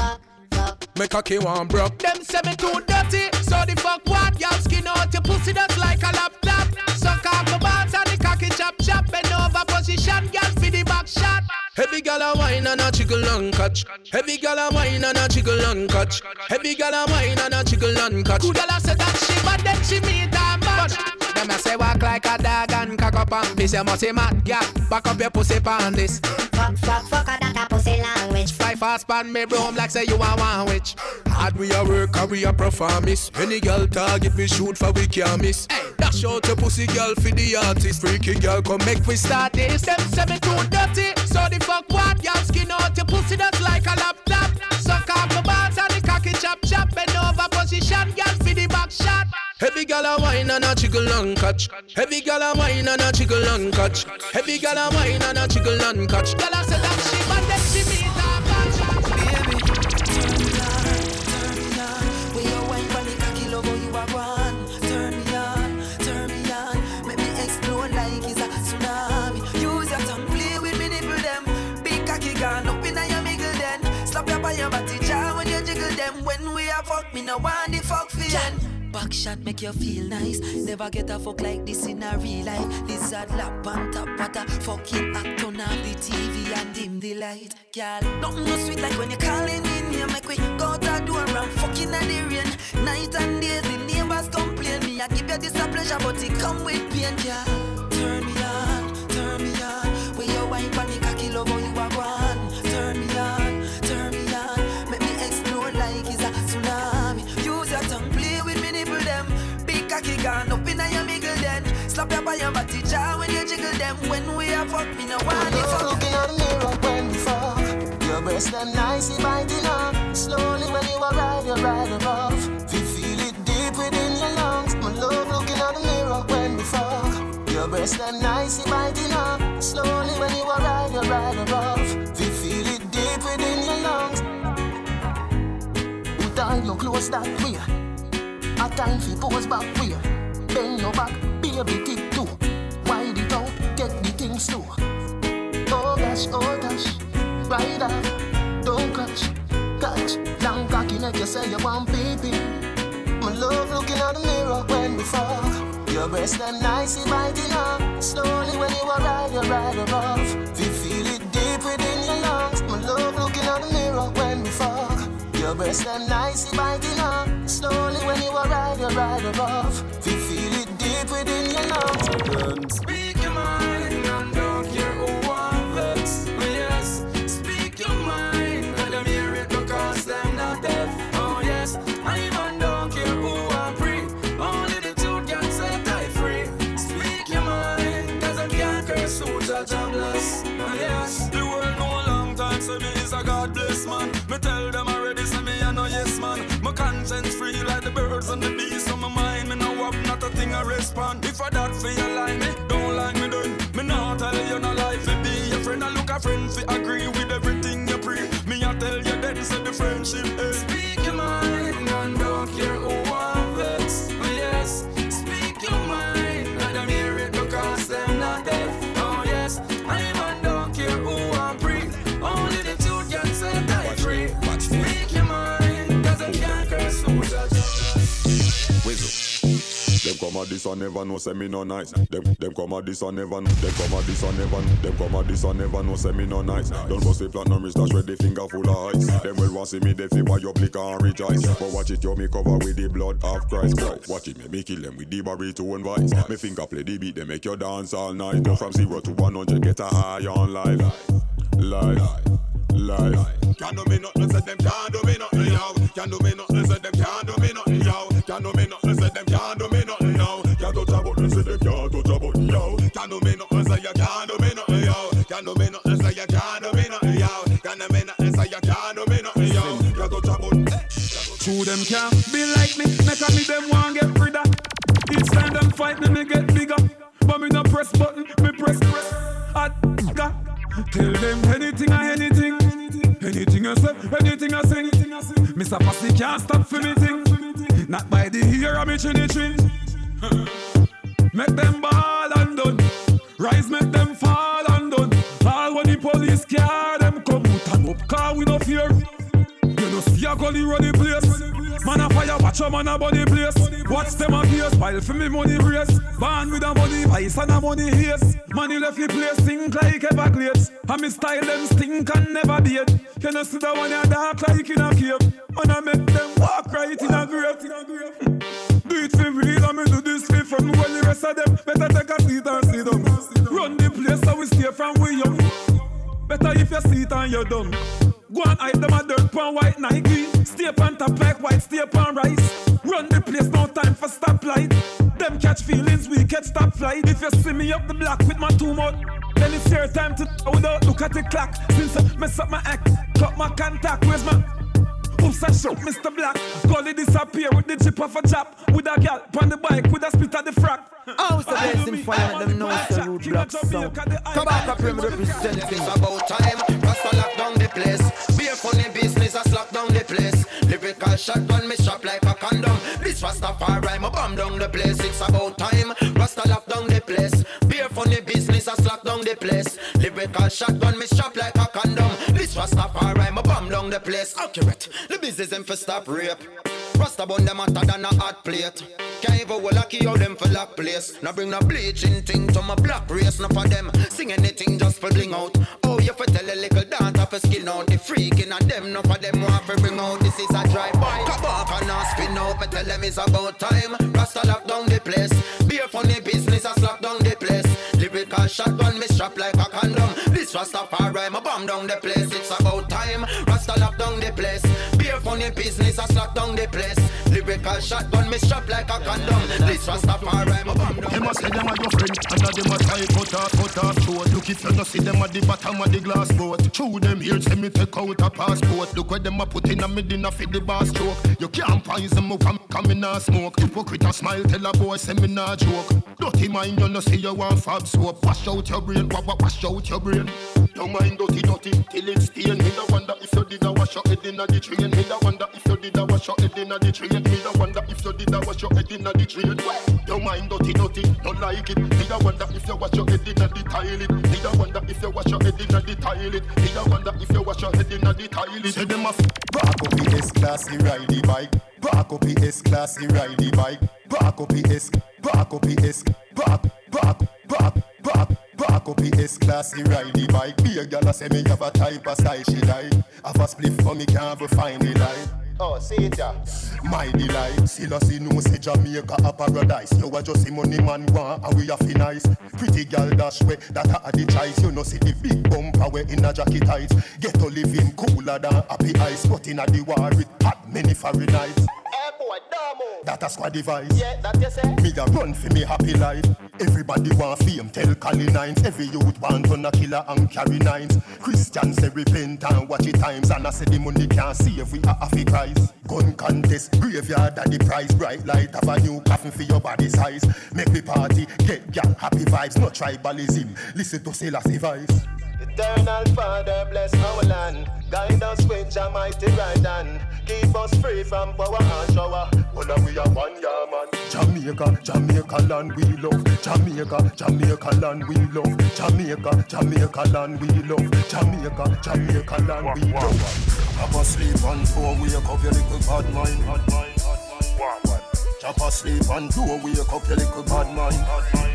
H: Make a key one broke. Them say me too dirty. So the fuck what? Y'all skin out your pussy that's like a laptop. Suck off my balls and the cocky chop. Bend over position, y'all for the back shot. Heavy gal a wine and a jiggle and catch. Heavy gal a wine and a jiggle and catch. Heavy gal a wine and a jiggle and catch. Good gal a say that she but then she meet a match. Them a say walk like a dog and cock up and piss. You must say mad gal. Back up your pussy pan this. Fuck that a pussy language. Fly fast pan me broom like say you a one witch. Hard we a work and we a performance. Any girl target we shoot for we can't miss. Hey, dash out your pussy girl for the artist. Freaky girl come make we start this. Them say me too dirty. So the fuck what? Y'all skin out your pussy that's like a laptop. Suck off my balls and the cocky chop. Bend over position, girl for the back shot. Heavy gal a wine and a jiggle and catch. Heavy gal a wine and a jiggle and catch. Heavy gal a wine and a jiggle and catch. Gal a say that she but then she meet a match.
C: Baby, turn me on. When you wine for the cocky logo you are one. Turn me on. Make me explode like it's a tsunami. Use your tongue, play with me nipple them. Big cocky gone up inna your middle then. Slap your by your body jaw when you jiggle them. When we a fuck me no want the fuck feeling. Back shot make you feel nice. Never get a fuck like this in a real life. Lizard lap on top of a fucking act. Turn off the TV and dim the light. Girl, nothing no sweet like when you're calling in here. Make we go out the door and fucking at the rain. Night and days the neighbors complain. Me I give you this a pleasure but it come with pain. Girl, turn me on. When you wine for the cocky love how you are one. Turn me on. Make me explode like it's a tsunami. Use your tongue, play with me nipple them. Big cocky gone up inna your middle then. Slap your by your body jaw when you jiggle them. When we a fuck me no want it fuck.
Q: Looking at the mirror when we fuck. Your breast them nicely biting up. Slowly when you ride above. We feel it deep within your lungs. My love looking at the mirror when we fuck. Your breast them nicely biting up. Slowly when you ride above. We feel it deep within your lungs. Tie your clothes that way. A time for pose back way. Bend your back, baby tip too. Wide it out, get the things too. Oh gosh, ride up, don't catch. Long cocky neck, you say you want baby. My love looking at the mirror when we fuck. Your breast them nicely biting up. Slowly when you ride above. We feel it deep within your lungs. My love looking at the mirror when we fuck. Your breast them nicely biting up. Slowly when you ride above. We feel it deep within your lungs.
K: Speak your mind and don't care who wants. Yes, speak your
A: say me is a God bless man. Me tell them already say me a no yes man. My conscience free like the birds and the bees. So my mind me no have not a thing I respond. If I that for you like me, don't like me done. Me not tell you no life fi be your friend. I look a friend fi agree with everything you pre. Me I tell you then say the friendship is. Speak your mind and don't care who I'm vex. Oh yes, speak your mind. Let them hear it because them not deaf. Oh yes, I even don't care who I'm free. Only the truth can set I free. Speak your mind, cause I can't curse who
T: Whistle. Them come at this and never know say me no nice. Them come at this and never know. Them come at this and never know. Them come at this and never know say me no nice. Don't bust the platinum wrist dash with the finger full of ice. Them will want see me they feel why you blick and rejoice. But watch it you me cover with the blood of Christ. Watch it me kill them with the baritone voice. Me finger play the beat they make you dance all night. Go from 0 to 100 get a high on life. Can't do me nothing say them can't do me nothing yo. Can't do me nothing say them can't do me nothing yo. Can't do me nothing say them can't do me nothing yo. Can't touch a button say them can't touch a button yo. Can't do me nothing say you can't do me nothing yo. Can't do me nothing say you can't do me nothing yo. Can't do me nothing say you can't do me nothing yo. Can't touch a button.
G: True them can't be like me. Make a me them want get rid of. Each time them fight me get bigger. But me no press button, me press. Tell them anything or anything. Anything I say, anything I sing. Mr. Passy can't stop for me thing. Not by the ear of me chinny chin. Make them ball and done. Rise make them fall and done. All when the police car them come out and up car we no fear. You know see a gully run the place. Man a fire watch a man a body place. Watch them a case pile for me money race. Born with a money vice and a money haze. Money left the place stink like Everglades. And me style them stink and never beat. You know see the one ya dark like in a cave. And I make them walk right in a grave. Do it for real and me do this for fun. While the rest of them better take a seat and sit down. Run the place so we stay from we young. Better if you sit and you're done. Go and hide them a dirt pan white Nike. Stay on top like white, stay on rice. Run the place, no time for stoplight. Them catch feelings, we catch stop flight. If you see me up the block with my 2 mouth, then it's your time to without look at the clock. Since I mess up my act, cut my contact. Where's my oops, I shot Mr. Black. Gully disappear with the chip off a chop. With a gal on the bike with a spit at the frack.
C: How's the best in fire? Them know it's the root block sound. Tobacco Prim representing.
I: It's about time. Rasta lock down the place. Be a funny business, I slap down the place. Lyrical shotgun, me shop like a condom. This Rastafari, I bomb down the place. It's about time. Rasta lock down the place. Be a funny business, I slap down the place. Lyrical shotgun, me shop like a condom. This Rastafari, I bomb down the place. Accurate. The business them for stop rape. Rasta bun them hotter than a hot plate. Can't even well lucky out them for lock place. Now bring the bleaching thing to my black race. Now for them sing anything just for bling out. Oh you for tell a little dance for skin out. The freaking of them now for them want to bring out. This is a drive-by. Come back and not spin out. Me tell them it's about time. Rasta lock down the place. Be a funny business I slap down the place. Lyrical shotgun me strap like a condom. This Rastafari I bomb down the place. It's about time. Rasta lock down the place. Be a funny business I slap down the place. Lyrical shotgun me strap like a condom. This Rastafari I bomb down.
J: Them a say them a your friend, and a them a try cut off throat. Look if you no see them at the bottom of the glass boat. Through them here say me take out a passport. Look where them a put in a me dinner for the bar stroke. You can't poison me from coming and smoke. Hypocrite a smile tell a boy say me nah joke. Dirty mind you no see you want fab soap. Wash out your brain, wash out your brain. Don't mind dirty till it stain. Me da wonder if you did a wash your head inna the train. Me da wonder if you did a wash your head inna the train. Me da wonder if you did a wash your head inna the train. Don't mind dirty, don't like it. Me da wonder if you wash your head inna the toilet. Me da wonder if you wash your head inna the toilet. Me da wonder if you wash your head inna the toilet. Say them a back up the S-Class, he ride the bike. Back up the S-Class, he ride the bike. Back up the S, back up the S, back up the S-Class, he ride the bike. Be a gal a say me have a type of style, she like. Have a spliff for me, can't ever find the light. Oh, see it ya. My delight. Still a see no say Jamaica a paradise. You a just see money man want and we a fi nice. Pretty girl dash way that a the choice. You no see the big bumper way in a jacket tights. Get to living cooler than happy ice. But in a the war with hot many Fahrenheit.
I: Hey boy, boy, Damo.
J: That a squad device.
I: Yeah, that you say.
J: Me a run for me happy life. Everybody want fame, tell Cali Nines. Every youth want to a killer and carry nines. Christians say repent and watch it times. And I say the money can't save we are half Christ. Gun contest, graveyard at the price. Bright light of a new coffin for your body size. Make me party, get gang happy vibes. No tribalism, listen to Selassie voice.
I: Eternal Father, bless our land. Guide us with your mighty right hand. Keep us free from power and shower. Well, we are one year man.
J: Jamaica, Jamaica land we love. Jamaica, Jamaica land we love. Jamaica, Jamaica land we love. Jamaica, Jamaica land we love.
Q: Chop asleep and don't wake up your little bad mind. Chop asleep and don't wake up your little bad mind.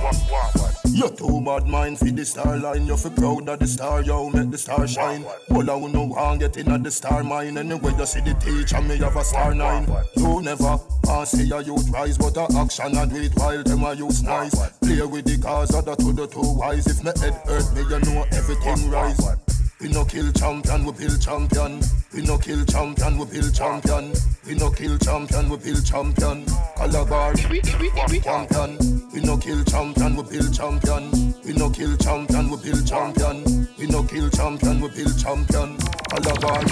Q: You too bad mind for the star line. You feel proud of the star, yo, make the star shine. All I know want get in at the star mine. Anyway you see the teacher, me have a star 9. You never see a youth rise, but a action and do it while them a use nice. Play with the cars, other to the two wise. If me head hurt me, you know everything rise. We no kill champion, we build champion. We no kill champion, we build champion. We no kill champion, we build champion. Calabar, champion. We no kill champion, we build champion. We no kill champion, we build champion. We no kill champion, we build champion. Calabar.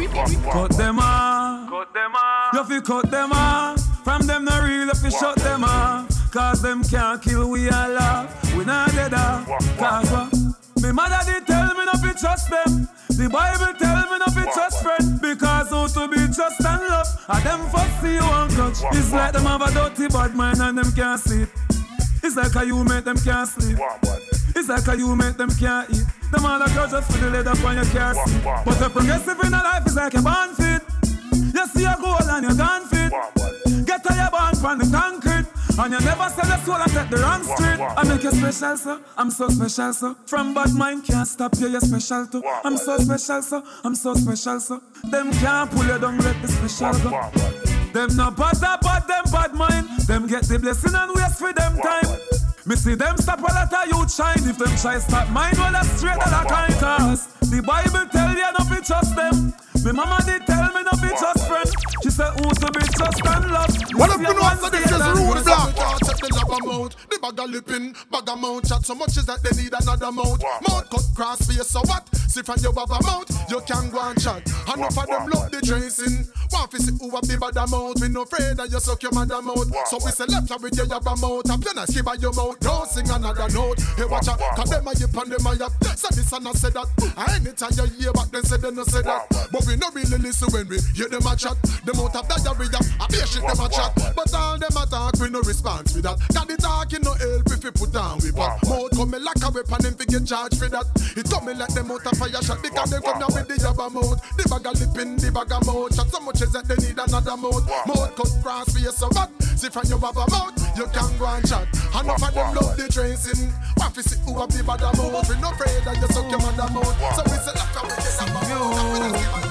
U: Cut them off. Cut them off. You fi cut them off. From them no real, you fi shut them off. Cause them can't kill, we all laugh. We not dead off. Cause what? Me mother did tell me not to trust them. The Bible tell me not to trust friend. Because who to be trust and love. And them first see you and clutch. It's like them have a dirty bad mind and them can't sleep. It's like how you make them can't sleep. It's like how you make them can't eat. Them all a grudge just for the leather when you can't see. But the progressive in a life is like a born fit. You see a goal and you're gone fit. Get to your born from the concrete. And you never sell your soul and take the wrong street. I make you special, sir. I'm so special, sir. From bad mind can't stop you, you're special too. I'm so special, sir. I'm so special, sir. Them can't pull you down, let the special go. Them no bother but them bad mind. Them get the blessing and waste for them time. Me see them stop a lot of youth shine. If them try stop mine, well that's straight to the kind. Cause the Bible tell you not to trust them. Me mama did tell me not to trust friend. She said who to be trust and love.
O: What if you know after this is rude black? Check the lab amount, the bag of lipping, bag of mount. Chat so much is that they need another mount. Mount cut cross face, so what? See from your baba mount, you can go and chat. Enough of them love the tracing. Want to see who have the bad amount. We no afraid that you suck your mother mouth. So we say left with your yabba mouth. I'm gonna skip by your mouth. Don't sing another note. Hey watch out, cause them a yip and them a yap. So this and I say that. And anytime you hear back then say they no say that. But we no really listen when we hear them a chat. Them out of diarrhea, I be shit them a chat. But all them a talk, we no response with that. Cause the talking no help if we put down we back. Mouth come me like a weapon and we get charged for that. It come me like them out of fire shot. Because they come down with the yabba mouth. The bag of lipping, the bag of mouth. Chat so much is that they need another mouth. Mouth cut cross for you so bad. See from your baba mouth, you can go and chat. Enough of them love the tracing. Want to see who have the bad mouth. We no afraid that you suck your mother mouth. So we say like a we get a mouth.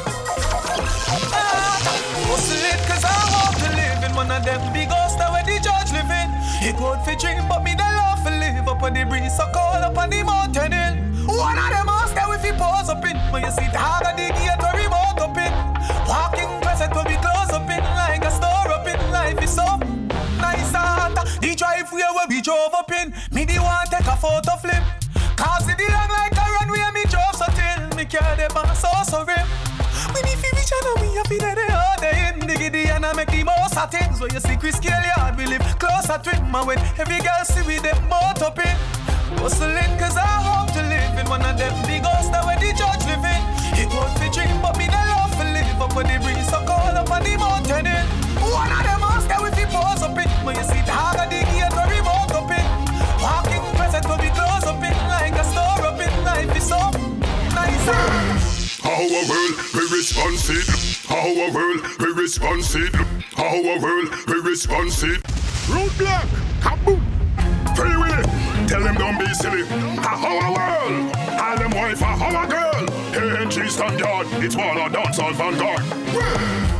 U: Hustle it cause I want to live in one of them big houses where the judge live in. He good for dream but me the love for live up on the breeze so cold up on the mountain hill. One of them house that we fi pose up in. When you see the hard of the gate or remote up in. Walking present will be close up in. Like a store up in. Life is so nice and the driveway where we drove up in. Me the one take a photo flip. Cause it long like a runway me drove so till. Me carry the bus so rim. We need to reach and we have been there all day in the giddy and I make the most of things. So you see Chris Kelly hard, we live closer to him. And when every girl see we them both up in. Hustling cause I hope to live in one of them big houses where the judge live in. He good for dream but me the love for live up on the breeze so cold up on the mountain hill. One of them houses that we fi pose up in. When you see the hard of the gate or remote up in. Walking present will be close up in. Like a store up in. Life is so nice.
T: How a world we responsive. How a world we responsive. How a world we responsive. Root black, kaboom. Free Willy, tell them don't be silly. How a world, all them wife a how a girl. ANG standard, it's one of dancehall vanguard. How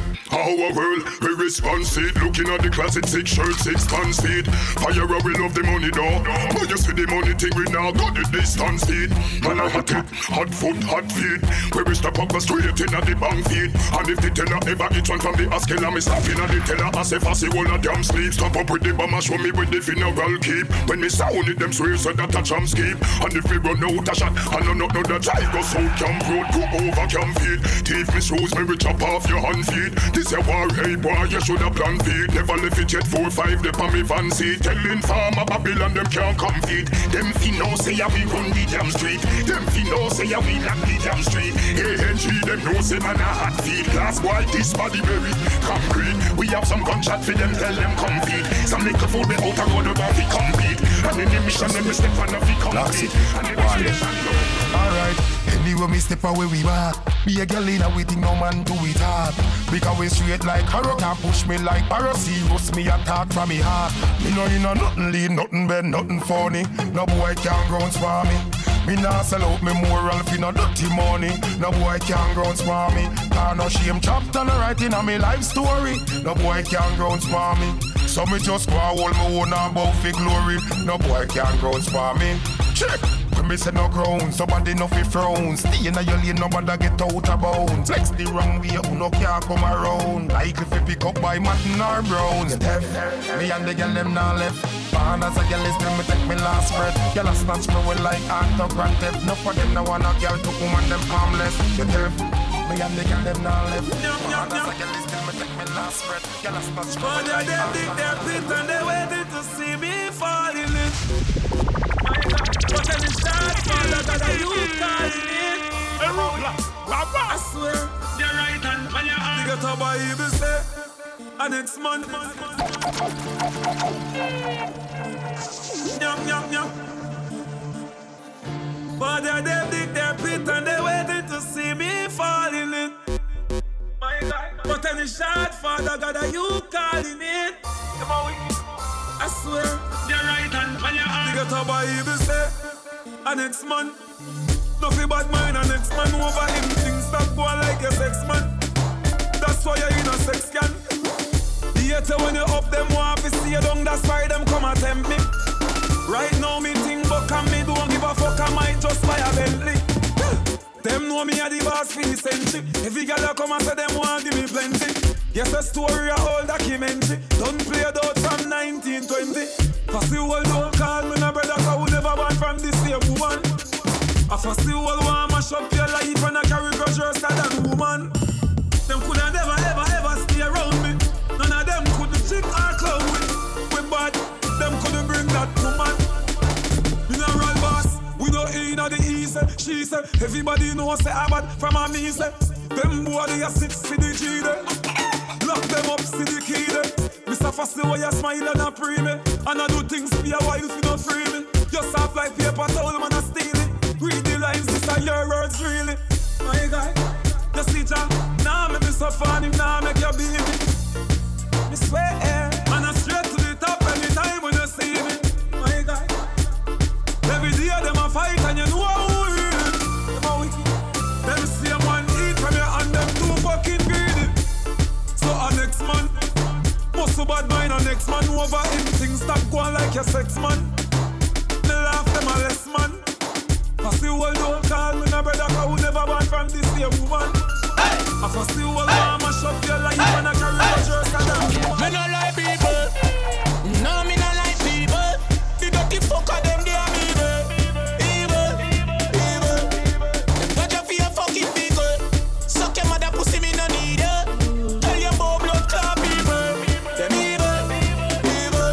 T: our world. We response it. Looking at the closet, 6 shirts, 6 pants feet. Fire, we love the money though. But you see the money thing, we now got the distance feet. Man, I hot it, hot foot, hot feet. We will stop up the straight in at the bank feet. And if the teller ever eat one from the Askell, I'm stopping at the teller. As if I see all of them sleep. Stop up with the bomber, show me with the funeral keep. When me sound it, them swear so that a chum skip. And if we run out a shot, I know the drive go south Camp Road, go over Camp Feet. Thief me shoes, me we chop off your hand feet. This a war, hey boy, you should have planned feet. Never left it yet, 4-5, they pa me van seat. Telling farmer Babylon, them can't come feet. Them finno say ya we run the damn street. Them finno say ya we lock the damn street. ANG, them know say man a hot feet. Last boy, this body very concrete. We have some gunshot for them, tell them come feet. Some little food we out a road about we compete. And in the mission, them we step on a we compete. And in the station,
O: alright, anyway me step away we back. Be a girl in a waiting, no man do it hard. Because we straight like Harrow, can't push me like Paracirus. Me attack from me heart. Me know you know nothing lead, nothing bad, nothing funny. No boy can't grounds for me. Me nah sell out me moral fi no dirty money. No boy can't grounds for me. Cause no shame chopped on the writing of me life story. No boy can't grounds for me. So me just go hold my own and bow fi glory. No boy can't grounds for me. Check. When me say no grounds, somebody no fi frown. Stay in your lane, nobody get out of bounds. Flex the wrong way, who no can't come around. Like if you pick up by Martin or Brown. Steph, me and the girl them now left. Born as a girl is till me take me last breath. Girl a snatch me with like autograph theft. No for them no want a girl to woman them harmless. You deaf, me and the girl them now left. Born as a girl is till me take me last breath. Girl a snatch me with like
U: them dig their pit and they waiting to see me fall in it. But then it's start fall out of you calling it. I swear, you're right and when you're on. You get a Bible say, and next month. Yum, yum, yum. But they dig their pit and they waiting to see me fall in it. My God. But then it's shot, Father God, are you calling it? Come on, I swear, you're right and when you're on. You get a Bible say, and next man. Nothing bad mind and next man over him. Things stop going like a sex man. That's why you're in a sex can. The hater when you up them want to see you down. That's why them come and tempt me. Right now me think buck and me don't give a fuck. I might just buy a Bentley. Them know me a the boss for the century. Every girl come and say them want give me plenty. Yes, a story, a whole documentary. Don't play it out from 1920. Cause the world don't call me no brother, cause we never born from the same woman. I first the world want mash up your life and I carry grudge worse than woman. Them coulda never ever ever stay around me. None of them could chick or clown with. We bad, them couldn't bring that woman. Mineral boss, we know in the east. She said, everybody knows say I bad from a me say. Them boy they a 6 for the G there. Lock them up, see the key there. Mr. Fussy, why you smile and a pre me? And I do things for a while if you don't free me. Just soft like paper towel, man, I steal it. Read the lines, this are your words, really. My guy, you see Jah, nah make me so funny, nah make you beat me. Me swear, man, I straight to the top anytime when you see me. My guy, every day them a fight and you know who it is. Them a wicked. Them same one eat from you and them too fucking greedy. So a next man, must bad mind a next man over him. Things stop going like your sex man. Me laugh them a less man. Cause the world don't call me no brother, cause we never born from this same woman. Hey! I cause the world want mash up your life and I carry the jerk and that woman.
B: Me no like people. No, me no like people. The dirty fucker them, they are evil. Evil, evil. Watch out for your fucking people. Suck your mother pussy, me no need her. Tell your boy blood clot people. Them evil, evil.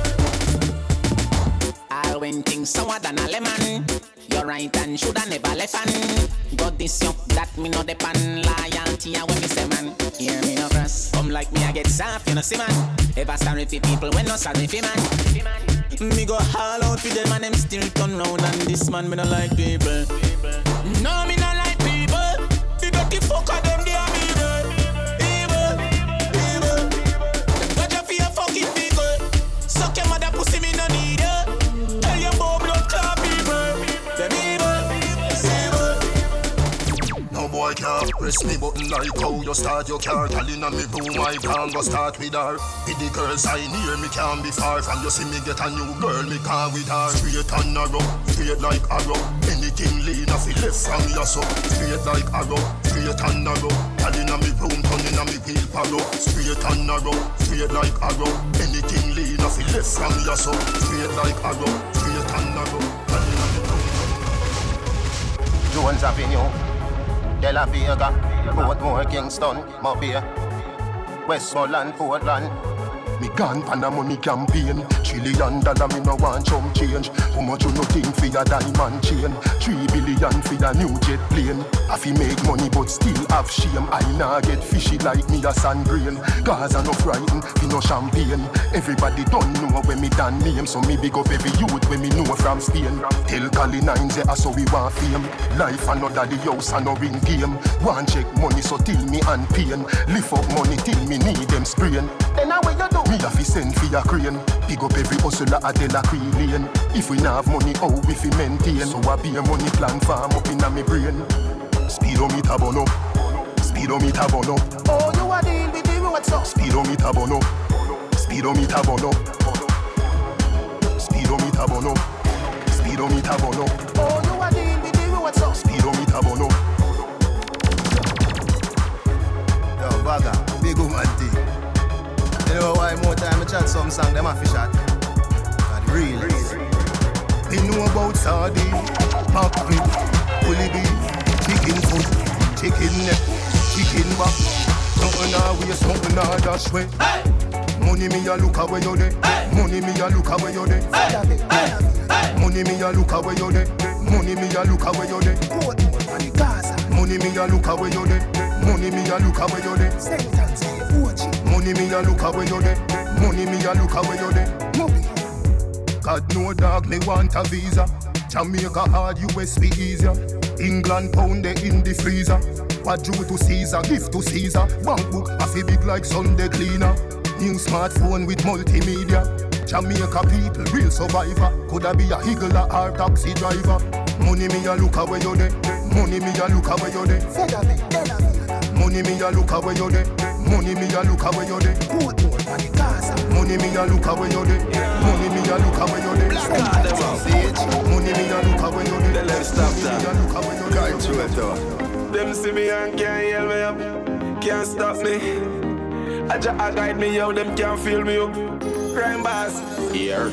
P: I'll win things sour than a lemon. You're right and shoulda never left and got this young that me no depend. Loyalty and when me say man, hear me no cross. Come like me I get soft, you know see man. Ever sorry for people when no sorry for man. Me go all out for them and them still turn round and this man me no like people.
B: No me no like people. The dirty fucker them they are evil. Evil, evil. Watch out for your fucking people. Suck your mother pussy me no need her. Tell your boy blood clot people. Them evil, evil.
Q: boy can't press me button like how you start your car. Girl inna me room, I can't go start with her. With the girls I near me can't be far from. You see me get a new girl, me can't with her. Straight and narrow, straight like arrow. Anything lean off it left from your so. Straight like arrow, straight and narrow. Girl inna me room, turn inna me wheelbarrow. Straight and narrow, straight like arrow. Anything lean off it left from your so. Straight like arrow, straight and narrow.
D: Jones Avenue, De La Vega, Portmore, Kingston, Mobile, Westmoreland, Portland.
J: Me gone pan a money campaign. $1 trillion me no want chump change. How much you no think for your diamond chain? 3 billion for your new jet plane. I fi make money but still have shame. I nah get fishy like me a sand grain. Gaza no frighten, fi no champagne. Everybody don't know when me done name. So me big up every youth when me know from Spain. Tell Cali 9 say so we want fame. Life another the house and no ring game. Want check money so till me and pain. Lift up money till me need them sprain. Then how will you do? Me a fi send fi a crane. Big up every hustler a De La Cree Lane. If we nah have money, how we fi maintain? So I be a money plan farm up inna me brain. Speedometer bono, speedometer bono.
D: Oh, you a deal with the what's up?
J: Speedometer bono, speedometer bono. Speedometer bono, speedometer bono.
D: Oh, you a deal with the what's up?
J: Speedometer bono.
L: Yo, Baga, big woman thing. You know why more time I chat some song, them a fish at? But real.
J: They know about sardine, mackerel, bully beef, chicken foot, chicken neck, chicken back. Something a waste, something a dash way. Money me a look away you dey. Money me a look away you dey. Money me a look away you dey. Money me a look away you dey. Money me a look away you dey. Money me a look away you dey. Money me a look away you dey. Money me a look away you dey. God no dog me want a visa. Jamaica hard, US be easier. England pound they in the freezer. What due to Caesar, gift to Caesar. Bank book a fi big like Sunday cleaner. New smartphone with multimedia. Jamaica people real survivor. Coulda be a higgler or taxi driver. Money me a look away you dey. Money me a look away you dey. Money me a look away you dey. Money me a look away you dey. Money me a look away you dey. Money me a look away you dey. Money me a look away you dey.
A: Let's stop that. Can't do it though. Them see me and can't yell me up. Can't stop me. I guide me out. Them can't feel me up. Crime boss. Here.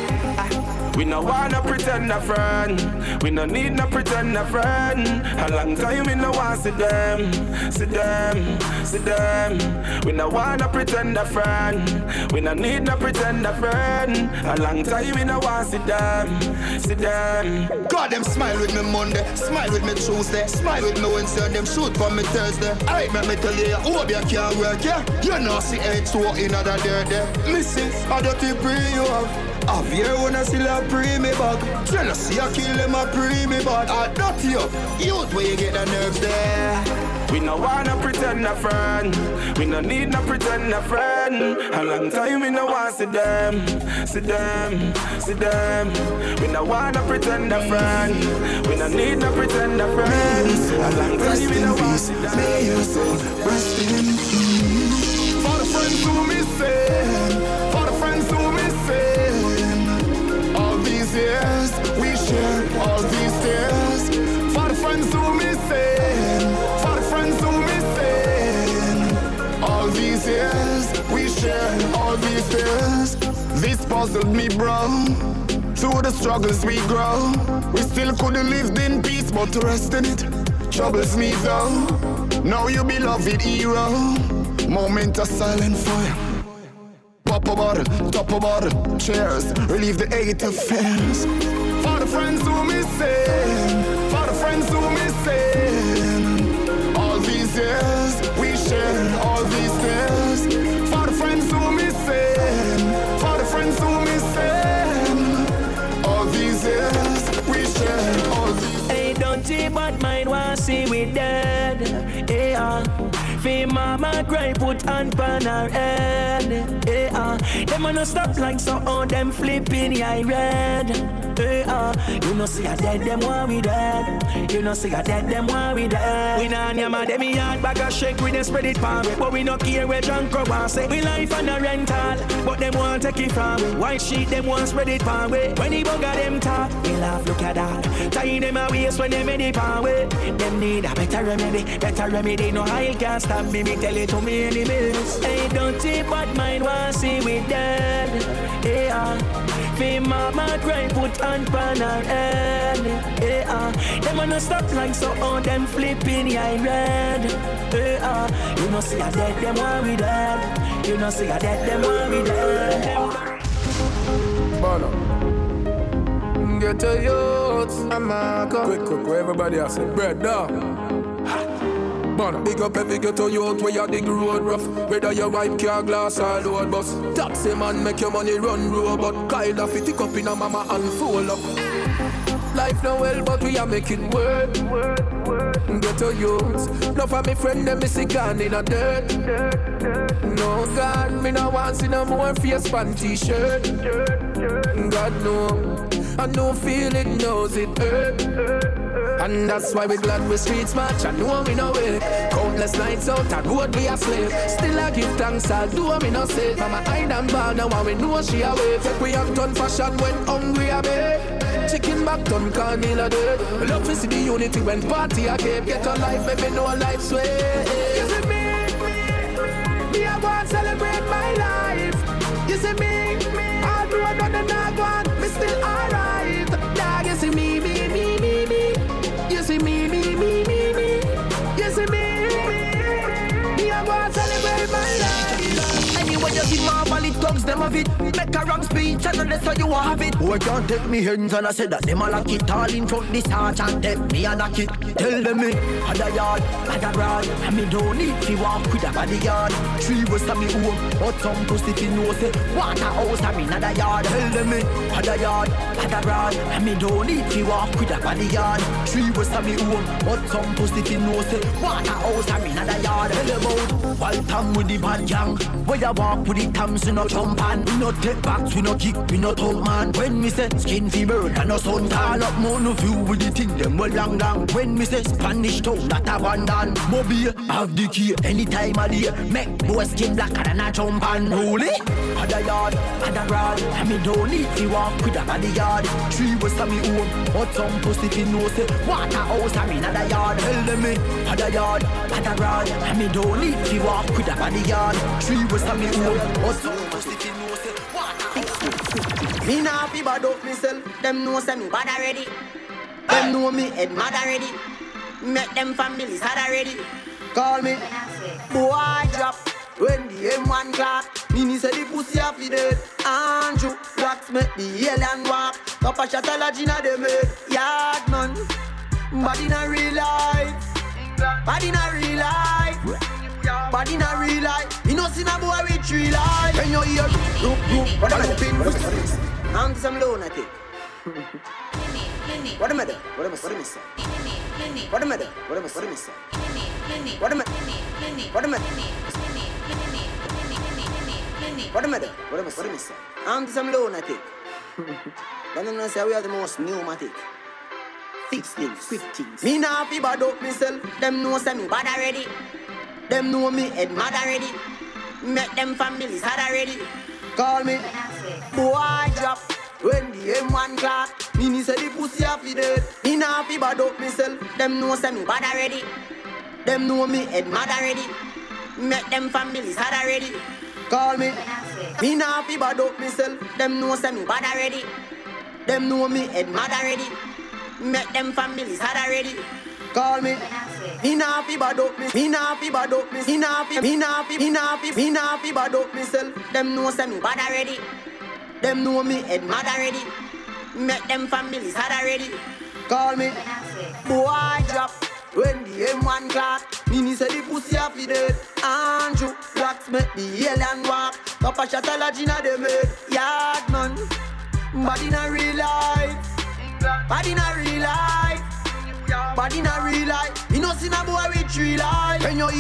A: We no wanna pretend a friend. We no need no pretend a friend. A long time we no want see them. See them, see them. We no wanna pretend a friend. We no need no pretend a friend. A long time we no want see them. See them.
L: God, them smile with me Monday, smile with me Tuesday, smile with me Wednesday, them shoot for me Thursday. Alright, me tell you, hope you can't work, yeah. You know see H2 in other there. Listen, I don't think bring you up. Have you wanna still a pre me back? Jealousy I kill them a pre me back. I dot you, youth where you get the nerves there.
A: We no wanna pretend a friend. We no need no pretend a friend. A long time we no want see them. See them, see them. We no wanna pretend a friend. We no need no pretend a friend. A long time we no want see them.
O: May your soul rest in peace. For the friends who missing, for the friends who missing. All these years we share, all these tears. For the friends who missing, for the friends who missing. All these years we share, all these tears. This puzzled me, bro. Through the struggles we grow. We still couldn't live in peace, but to rest in it troubles me though. Now you beloved hero. Moment of silent fire. Pop a bottle, top a bottle, cheers, relieve the hate affairs. For the friends who missing, for the friends who missing. All these years we share, all these tears. For the friends who missing, for the friends who missing. All these years we share, all these.
H: Hey, don't you but mine want see we dead, yeah. Fame mama cry, put hand on her head. Them a no stop like so on them flipping I red. You know see a dead them want we dead. You know see a dead them want we dead. We nah nyama them yard bag a shake we dey spread it palm. But we no care where drunk or want say. We life on a rental, but them want take it from we. White sheet them want spread it palm way. When the bugger them talk, we laugh look at that. Tie them a waist when they made it palm way. Them need a better remedy. No high can't stop me tell it to me enemies. Hey, don't take but mine want see we dead. Fame mama cry, put hand on her head. Them a no stop like so on them flipping I red. You know see a dead them want we dead. You know see a dead them want we dead.
A: Bono, get a youth, I'm a quick, where everybody else say bread down. Bono. Big up every ghetto youth where you dig road rough. Whether you wipe car glass or load bus. Taxi man make your money run robot. Kyle off it, tick up in a mama and full up. Life no well but we are making work. Ghetto youth. No for me friend them missing gone in a dirt. No God, me no want see no more face pan t-shirt. God no, I no feel it, knows it hurt. And that's why we glad we streets match. I know we know it. Countless nights out and road we a slave. Still I give thanks, I do me no say. Mama hide and ball now and we know she away. Take we have done fashion when hungry a bed. Chicken back done can't deal a dead. Love to see the unity when party a cape. Get a life, maybe no life's way. You see me I want to celebrate my life. You see me, all the road on the dog one, me still alright. Dog, you see me. You see me. You see me I want to celebrate my life. Anyway, you see Marvel, it talks them of it. Make a wrong speech, and that's how you have it. Boy can't take me hands and I said that them a lock it. All in front this heart and take me a knock it. Tell them me, had a yard, had a broad. And me don't need to walk with a bodyguard. 3 was to me home, but some pussy fi know say water house and me not a yard. Tell them me, had a yard, had a broad. And me don't need to walk with a bodyguard. 3 was to me home, but some pussy fi know say water house and me not a yard. Tell them out, wild time with the bad gang. Where you walk with the tams, we no jump and we no take backs, we no kick, we no talk man. When me say skin fi burn and no sun tall up, more no view with the thing them well long. When me say Spanish town, that abandon. Mobile, have the key, anytime I day. Make boy skin blacker than a jump and roll it. Had a yard, had a rod, and me don't need to walk with a bodyguard. 3 was to me home, but some pussy fi know say water house and me not a yard. Tell them me, had a yard, had a rod, and me don't need to walk with a bodyguard. 3 was to me home, but some pussy fi know say water. Me nah fi bad up myself, them know say me bad already. Them know me head mad already. Make them families had already. Call me boy drop when the M1 clock. Mini say the pussy a fi dead. Andrew Wax make the alien walk. Top a shot a la Gina de made. Yard man, but in a real life. But in a real life. But in a real life. You know see a boy with 3 life. When you hear look, what am I doing? I'm some lunatic. What am I doing? What am I saying? What am I doing? What am I saying? What am I doing? What am I doing? What am I doing? What am I saying? I'm some lunatic. Don't say we are the most pneumatic. Fix things, quick things. Me nah fi bad up myself. Them know say me bad already. Them know me head mad already. Make them families had already. Call me boy drop when the M1 clock. Mini say the pussy a fi dead. Me nah fi bad up myself. Them know say me bad already. Them know me head mad already. Make them families had already. Call me nah fi bad up myself. Them know say me bad already. Them know me head mad already. Make them families had already. Call me nah fi bad up me. Me nah fi bad up me. Me nah fi bad up myself. Them know say me bad already. Them know me head mad already. Make them families had already. Call me boy drop when the M1 clock. Mini say the pussy a fi dead. Andrew Wax make the alien walk. Top a shot a la Gina de made. Yard man, but in a real life. But in a real life. But in a real life. You know see a boy with 3 life. When you hear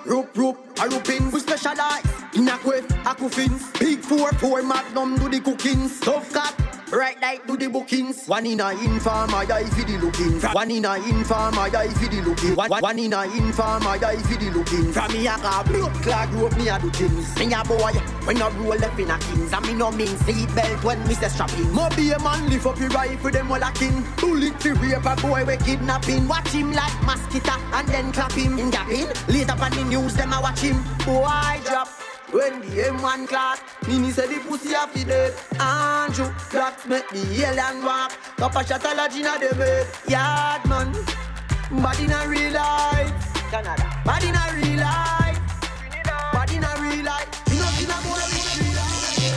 F: rope, a rooping. We specialize in a quest, aquafins. Big 4 Magnum do the cooking. Tough cat, right like do the bookings. One in a informer, die for the looking. One in a informer, die for the looking. One in a informer, die for the looking. From me a car, blood clot rope, me a do things. Me a boy, when I roll left in a kings. And me no mean seat belt when me say strapping. Mo be a man, lift up your rifle, them all a king. Bullet to rape a boy, we kidnapping. Watch him like mosquito, and then clap him. In gapping, later on the news, them a watch him. Boy drop. When the M1 clock, Mini said the pussy a fi dead. Andrew, that make the alien walk. Papa shot a lodge inna the bed. Yard man, bad in a real life. Canada, bad in a real life. Bad in a real life. You know, in a boy in real life.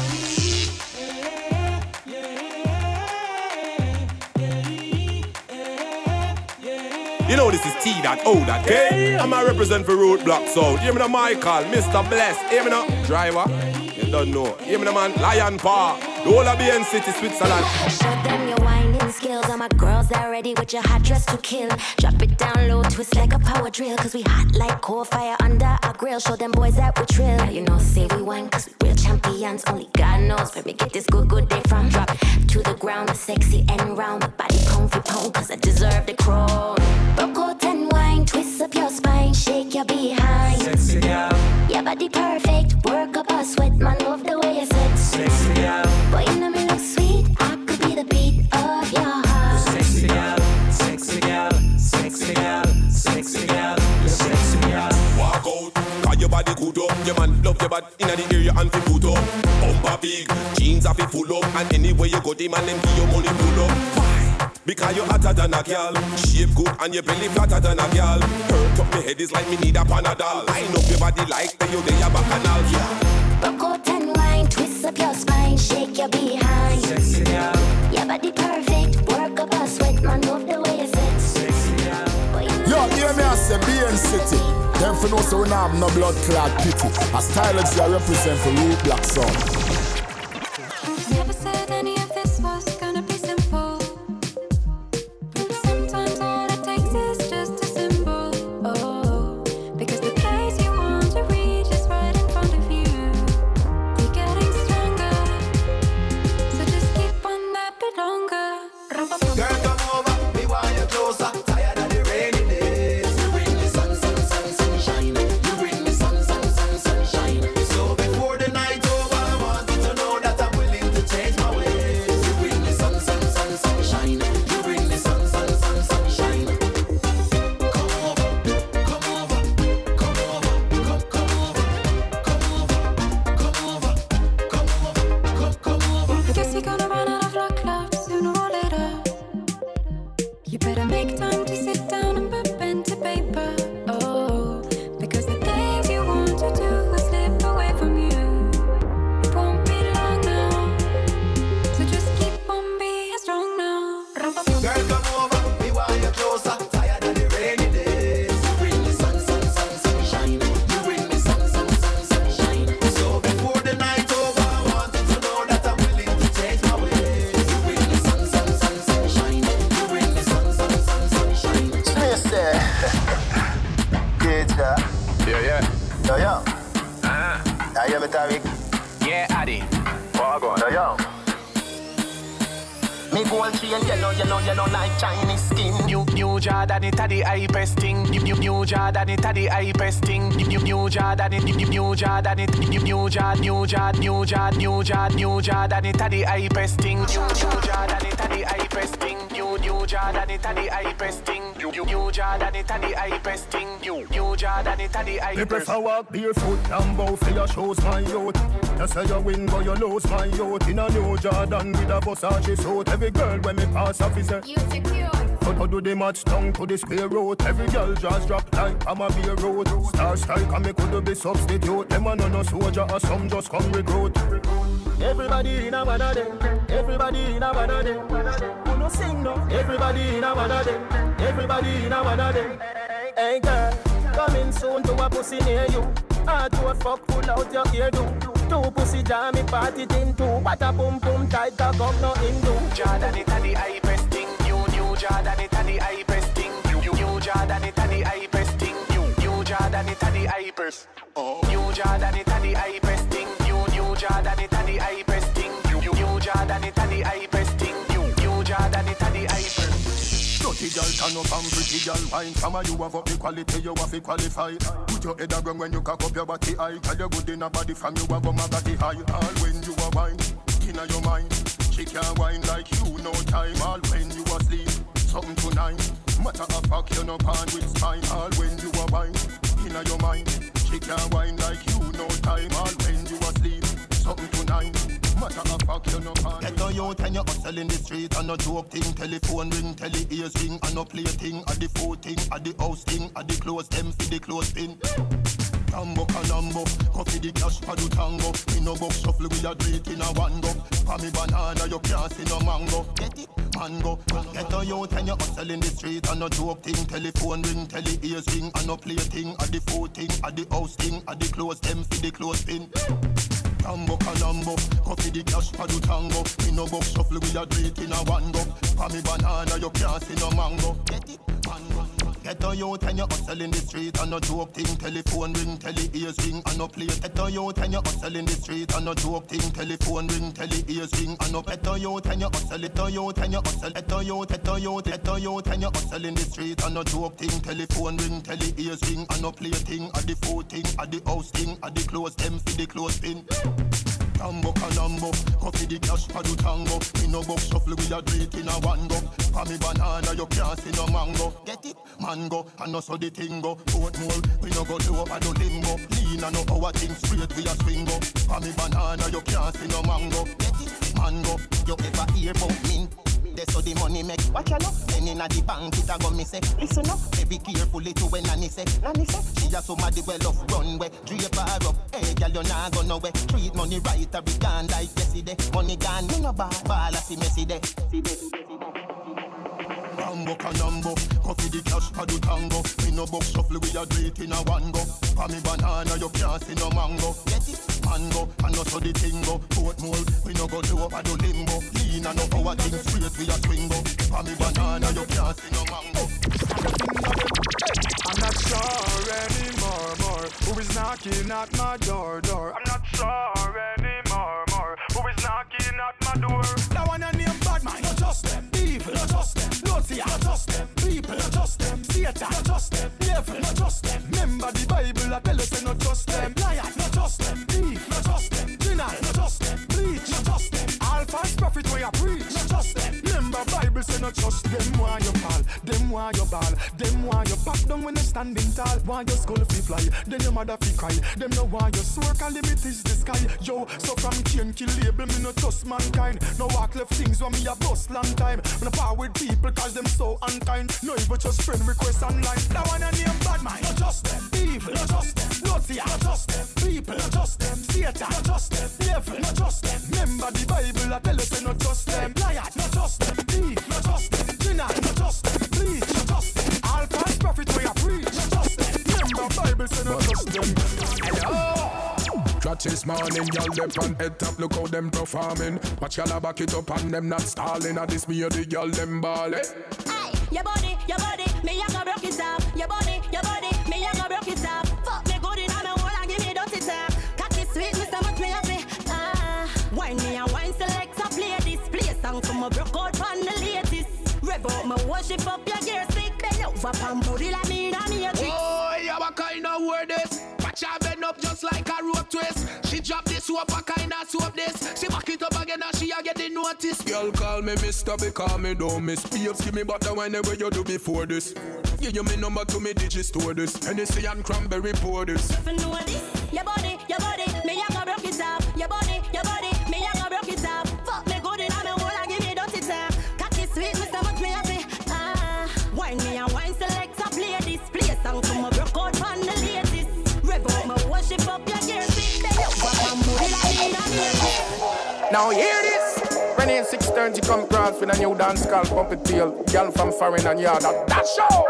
V: You know this is T.O. Okay? I'm a represent for Roadblock Sound. Hear me now, Michael, Mr. Bless. Hear me now, Driver. You don't know. Hear me now, man, Lion Paw. The whole of BN City, Switzerland.
W: Show them your whining skills. All my girls that ready with your hot dress to kill. Drop it down low, twist like a power drill. Cause we hot like coal fire under our grill. Show them boys that we trill. Now you know, say we won cause we real champions. Only God knows where we get this good day from. Drop to the ground, sexy and round. My body comfy pound cause I deserve the crown. Broke out and wine, twist up your spine, shake your behind.
U: Sexy girl.
W: Your body perfect, work up a sweat, man, love the way you sit.
U: Sexy girl.
W: Boy, you know me look sweet, I could be the beat of your heart.
U: Sexy girl, sexy girl, sexy girl, sexy girl, you sexy girl.
V: Walk out, cause your body good up. Your man love your body inna the area and fi put up. Bumper big, jeans are fi full up. And anywhere you go, the man them give you money pull up. Because you hotter than a girl. Shape good and your belly flatter than a girl. Hurt up my head is like me need a Panadol. Line up your body like the you day a bacchanal.
W: Broke out and wine, twist up your spine, shake your behind.
U: Sexy girl.
W: Your body perfect, work up a sweat, man, love the way you sit.
U: Sexy girl.
X: Yo, hear me I say BN City. Them for no so we not have no blood clot pity. A stylist I represent for Roadblock Sound.
W: Never said any of this was gonna be simple. But sometimes all it takes is just a symbol. Oh, because the place you want to reach is right in front of you. You're getting stronger, so just keep on that bit longer.
B: Girl, come over, me want you closer. Tired of the rainy days. You bring me sun, sunshine. You bring me sun, sunshine. So before the night over, I want you to know that I'm willing to change my ways. You bring me sun, sunshine. You bring me sun, sunshine. Come over, come over, come over, come over, come over, come over, come over, come over.
W: I guess you're gonna run out of luck, love, sooner or later. You better make time to sit down and put pen to paper. Oh, because the things you want to do will slip away from you. It won't be long now, so just keep on being strong now.
B: Girl, come over, me want you closer. Tired of the rainy days. You bring me sun, sunshine. You bring me sun, sunshine. So before the night over, I want you to know that I'm willing to change my ways. You bring me sun, sunshine. You bring me sun, sunshine.
X: Space there. Get ya.
V: Yeah.
X: Yo, yo. I hear me, Tariq.
M: Yeah, Addy.
X: Yo, yo.
B: Me gold chain yellow like Chinese skin.
M: New Jordan, it a the hypest thing. New Jordan, it a the hypest thing. New Jordan, it New Jordan, it New Jordan, it a the hypest thing. New Jordan, it a the hypest thing. New Jordan, it a the hypest thing. New Jordan, it a the hypest thing. New Jordan, it a the hypest.
X: Me prefer walk barefoot and bow for your shows, my youth. You say you win, but you lose, my youth. In a New Jordan with a Versace suit. Every girl when me pass off is a you secure. But to do the match down to the square road. Every girl just drop like I'm a beer road. Star strike and me could be substitute. Them a no soldier or some just come recruit. Everybody in a one of them. Everybody in a one of them. Who no sing no? Everybody in a one of them. Everybody in a one of them. Hey girl, coming soon to a pussy near you. Hard to a fuck, pull out your ear do. Two pussy jam me party thing too. What a boom boom tight cock up no Hindu.
M: Jordan it a the hypest thing. New Jordan it a the hypest thing. New Jordan it a the hypest thing. New Jordan Jordan, it a the hypers. New Jordan, it a the hypers thing. New Jordan, it a the hypers thing. New Jordan, it a the hypers thing. New Jordan, it a the hypers.
X: Dirty girl turn up and pretty girl wine. Some of you have up the quality, you have to qualify. Put your head around when you cock up your body high. Tell you good in a body from you have a body high. All when you are wine, inna your mind. She can't wine like you, no time. All when you are sleep, something tonight. Matter of fact, you no pan with spine. All when you are wine, inna your mind. She can't wine like you, no time. All when you are sleep, something tonight. Matter of fact, you no pan. Get on you and you hustle in the street and no joke thing. Telephone ring, tele ears ring, and no play thing. At the food thing, at the house thing, at the clothes them for the clothes pin. Tambo canambo, coffee the cash for the tango. Me no box shuffle, we a do it in a one go. For me banana, you can't see no mango. Get it? Mango. Get on you and you hustle in the street and no joke thing. Telephone ring, tele ears ring, and no play thing. At the food thing, at the house thing, at the clothes them for the clothes pin. Tambo canambo, coffee the cash for the tango. Me no box shuffle, we a do it in a one go. For me banana, you can't see no mango. Get it? Mango. Get on you and you hustle in the street and no joke thing. Telephone ring, tele ears ring, and no play. Get on you and you hustle in the street and no joke thing. Telephone ring, tele ears ring, and no. Get on you and you hustle. Get on you and you hustle. Get on you and you hustle in the street and no joke thing. Telephone ring, tele ears ring, and no play thing. At the food thing, at the house thing, at the clothes them for the clothes pin. Tambo canambo, coffee the cash for the tango. Me no box shuffle, we a do it in a one go. For me banana, you can't see no mango. Get it? Mango, and no so the thing go. Portmore, we no go low over the limbo. Lean and no our thing straight, we a swing go. For me banana, you can't see no mango. Get it? Mango, you ever hear about mint? That's how the money make. Watch out, then inna the bank it a go me say. Listen up, be carefully to when Nanny say. Nanny say, she a somebody well off runway. Drape her up, hey girl you nah go nowhere. Treat money right, a be gone like yesterday. Money gone, me no ball a see messy day. Rambo canambo, coffee the cash for the tango. Me no box shuffle, we a do it in a one go. For me banana, you can't see no mango. Get it? Mango, and no so the thing go. Portmore, we no go do over the limbo. Lean and no our thing straight, we a swing go. For me banana, you can't see no mango.
A: I'm not sure anymore, who is knocking at my door. I'm not sure anymore, who is knocking at my door.
D: That one a name bad man, not just them. Evil, not just them. Lotsia, not just them. People, not just them. Satan, not just them. Devil, not just them. Remember the Bible, I tell us say not just them. Liar, not just them. Thief, not just them. Sinner, not just them. Bleach, not just them. All false prophet where you preach, not just them. Remember Bible say not just them. Why you fall, them why you ball, them why you back down when you standing tall. Why your skull fi fly, then your mother fi cry. Them know why you swear, cause limit is the sky. Yo, so from chain kill label, me no trust mankind. No walk left things when me a bust long time. Me no power with people cause them so unkind. No even just friend request online. That one a name bad man, not just them. Evil, not just them. Lotsia, not just them. People, not just them. Satan, not just them. Devil, not just them. Remember the Bible, I tell us say not just them. Liar, not just them. Thief, not just them. Sinner, not just them. Bleach, not just them. All false prophet where you preach, not just them. Remember Bible say not just them. Hello.
K: Catch this morning, y'all them on head top, look how them performing. Watch y'all back it up and them not stalling. And this me or the y'all them ball. Hey,
W: your body, me a go broke it off. Your body, me a go broke it off. Fuck me good in my hole and give me dirty talk. Cocky sweet, me so much me a say. Wine me a wine select a play this. Play a song from a broke out from the latest. Rev out my worship up your gear stick. Bend over pan booty like me and me a trick.
K: Oh, yeah, what kind of word this? Watch her bend up just like a rope twist. She drop this soap, what kind of soap this? She back it up again and she a get the notice. Girl call me mister because me don't miss. Babes give me butter whenever you do before this. Give you me number to me digit store this. Hennessy and cranberry pour this.
W: If you know this, your body, me a go broke it off. Your body, me a go broke it off. Fuck me good in my hole and give me dirty talk. Cocky sweet, me so much me a say. Wine me a wine select a play this. Play a song from a broke out from the latest. Rev out my worship up your gear stick. Bend over and booty like me and me.
E: Now hear this. When in 6:30 come cross with a new dance called Pump It Tail. Girl from foreign and yard that show.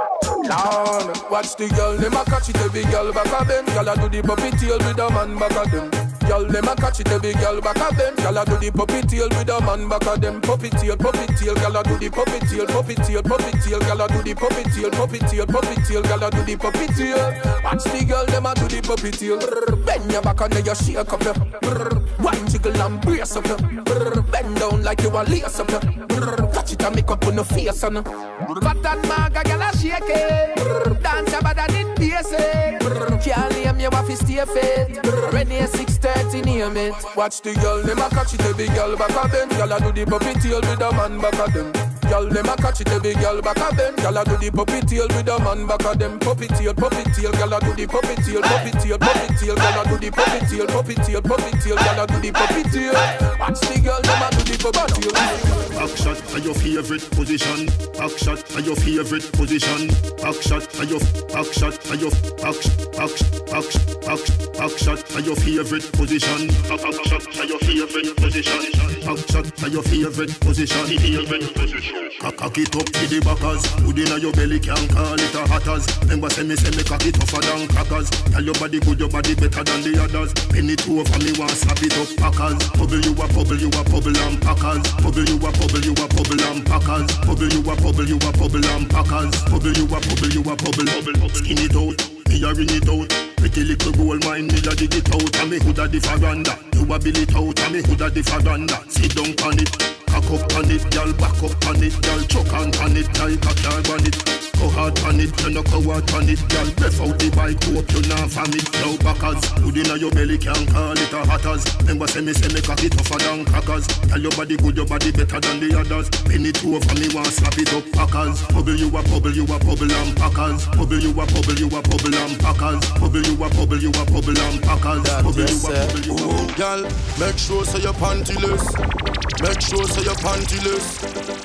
E: Down.
K: Watch the girl, them a catch it every girl back of them. Girl a do the puppy tail with a man back of them.
E: Girl, them a catch it, every girl back of them. Girl a do the puppy tail with a man back of them. Puppy tail, girl a do the puppy tail. Girl a do the puppy tail. Girl a do the puppy tail. Watch the girl, them a do the puppy tail. Bend your back and then you shake up your. Wine jiggle and brace up your. Bend down like you a lace up your. Touch it and make up on the face on. But that maga girl a shake it. Dance your body and it basic. Can't name you have to stay fit. Ready 6:30 name it. Watch the girl, them a catch it, every girl back of them. Girl a do the puppy tail with a man back of them. Girl, them a catch it, every girl back of them. Girl a do the puppy tail with a man back of them. Puppy tail. Girl a do the puppy tail. Girl a do the puppy tail. Girl a do the puppy tail. Watch the girl, them a do the puppy tail.
X: Back shot are your favorite position. Back shot are your favorite position. Back shot are your back shot are your back shot are your favorite position. Back shot are your favorite position. Back shot are your favorite position. Cock it up to the backers. Hood inna your belly can't call it a hatters. Remember say me cock it tougher than crackers. Tell your body good, your body better than the others. Penny two over me want slap it up packers. Bubble you a bubble and packers. Bubble you a bubble and packers. Bubble you a bubble and packers. Bubble you a bubble. Skin it out, me a ring it out. Pretty little gold mine, me a dig it out. And me hood a the faranda. You a bill it out, and me hood a the faranda. Sit down on it. Cock up on it, girl, back up on it, girl, choke on it, like a car on it. Go hard on it, you no go out on it, girl, breath out the bike, hope you not from it. Now backers, hood inna your belly can't call it a hatters. Remember say me cock it tougher than crackers. Tell your body good, your body better than the others. Penny two over me want slap it up packers. Bubble you a bubble and packers. Bubble you a bubble and packers. Bubble you a bubble and packers. Bubble you a bubble.
A: Girl, make sure so you're pantyless. Make sure so you're pantyless.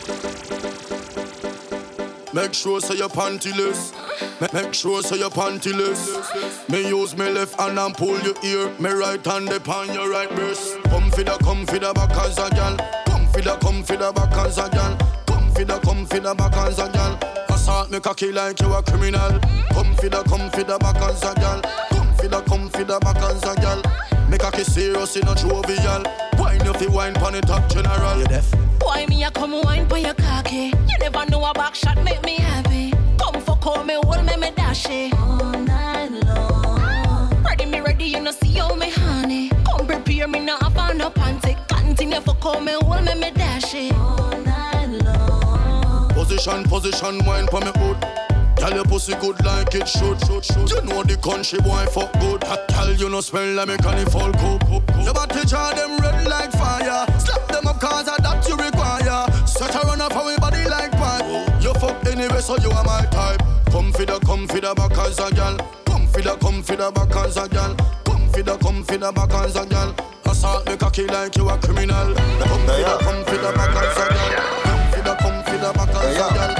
A: Make sure so you're pantyless. Make sure so you're pantyless. Me use me left hand and pull your ear. Me right hand upon your right breast. Come for the back as a gal. Come for the back as a gal. Come for the back as a gal. Assault me cocky like you a criminal. Come for the back as a gal. Come for the back as a gal. Make a kiss serious in a jovial. Wine if you wine pon the top general. You deaf?
G: Why me a come wine pon your cocky? You never know a back shot make me happy. Come fuck me, hold me dash it. All night long. Ready, you know see how me honey. Come prepare me now up no panty. Continue fuck me, hold me dash it. All night long.
A: Position, wine pon me hood. Tell your pussy good like it should. You know the country boy fuck good. Tell you no smell like me carnival coke. You better charge them red like fire. Slap them up cause of that you require. Set a run up for me body like pipe. You fuck anyway so you are my type. Come for the back as a gal. Come for the back as a gal. Come for the back as a gal. Assault me cocky like you a criminal. Come for the back as a gal. Come for the back as a gal.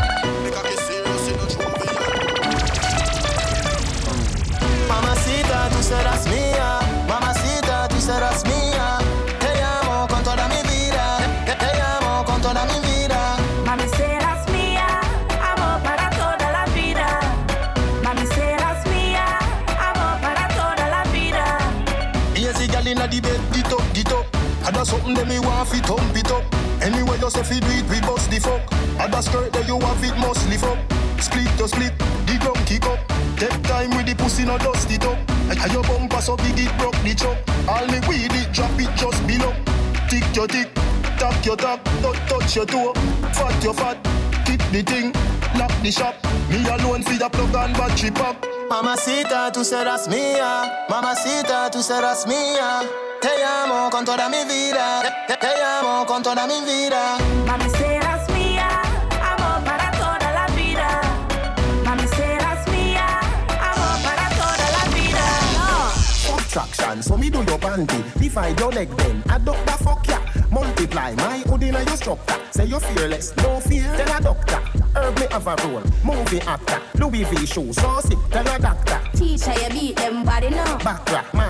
C: Mamacita, tú serás mía. Mamacita, tú serás mía. Te amo con toda mi vida. Te amo con toda mi vida.
W: Mami, serás mía. Amor para toda la vida. Mami, serás mía. Amor para toda la vida.
X: Easy gal inna the bed, get up. Ada something that me want fi thump it up. Anyway you say fi do it, we bust the fuck. Ada skirt that you have it must lift up. Split to split, the drum kick up. Take time with the pussy, no dust it up. And your bumper so big it broke the chop. All me weed it, drop it just below. Tick your tick, tap your tap, don't touch your toe. Fat your fat, keep the thing, lock the shop. Me alone feed a plug and battery pop.
C: Mamacita, tú serás mía. Mamacita, tú serás mía. Te amo con toda mi vida. Te amo con toda mi vida.
W: Mami, serás mía. Amor para toda la vida. Mami, serás mía. Amor para toda la vida.
X: Subtraction, so me do your panty. Divide your leg then, adopt the fuck ya. Multiply my hood in your structure. Say you're fearless, no fear, tell a doctor. Herb me have a role, movie actor. Louis V shoes, so sick, tell a doctor.
W: Teacher, you beat them body now.
X: Backrack, massa,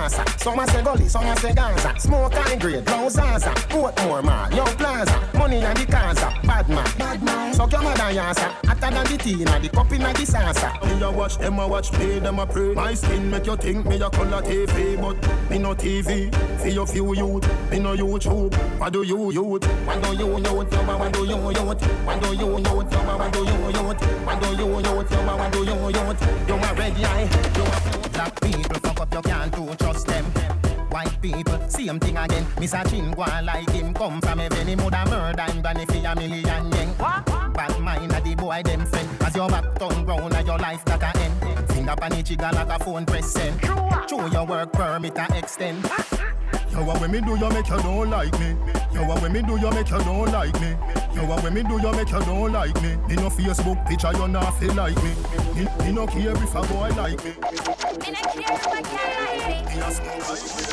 F: Some a say gully, some a say Gaza. Smoke high grade, blow Zaza. Portmore man, Young Plaza. Money and the Gaza, bad man. Suck your mother yasa. Hotter than the tea, and the cup in the salsa.
X: Me a watch them a watch, play them a pray. My skin make you think me a color TV, but me no TV. For your few youth, me no YouTube. What do you youth?
F: What do you youth? What do you youth? What do you youth? What do you youth? What do you youth? What do you youth? You a red eye. You a black people fuck up, you can't do trust them. White people, same thing again. Mr. Chingwa like him come from heaven. He woulda murder him granny for $1 million yen. Bad mind a the boy them friend. As your back turn round and your life that a end. Finger pan the trigger like a phone press send. Show your work permit a extend.
X: Yo, what when me do you make you don't like me? Yo, what when me do you make you don't like me? Yo, what when me do you make you don't like me? Me no Facebook picture you not feel like me. Me no care if a boy like me.
I: Me no care if a girl like me.
X: Me a smoke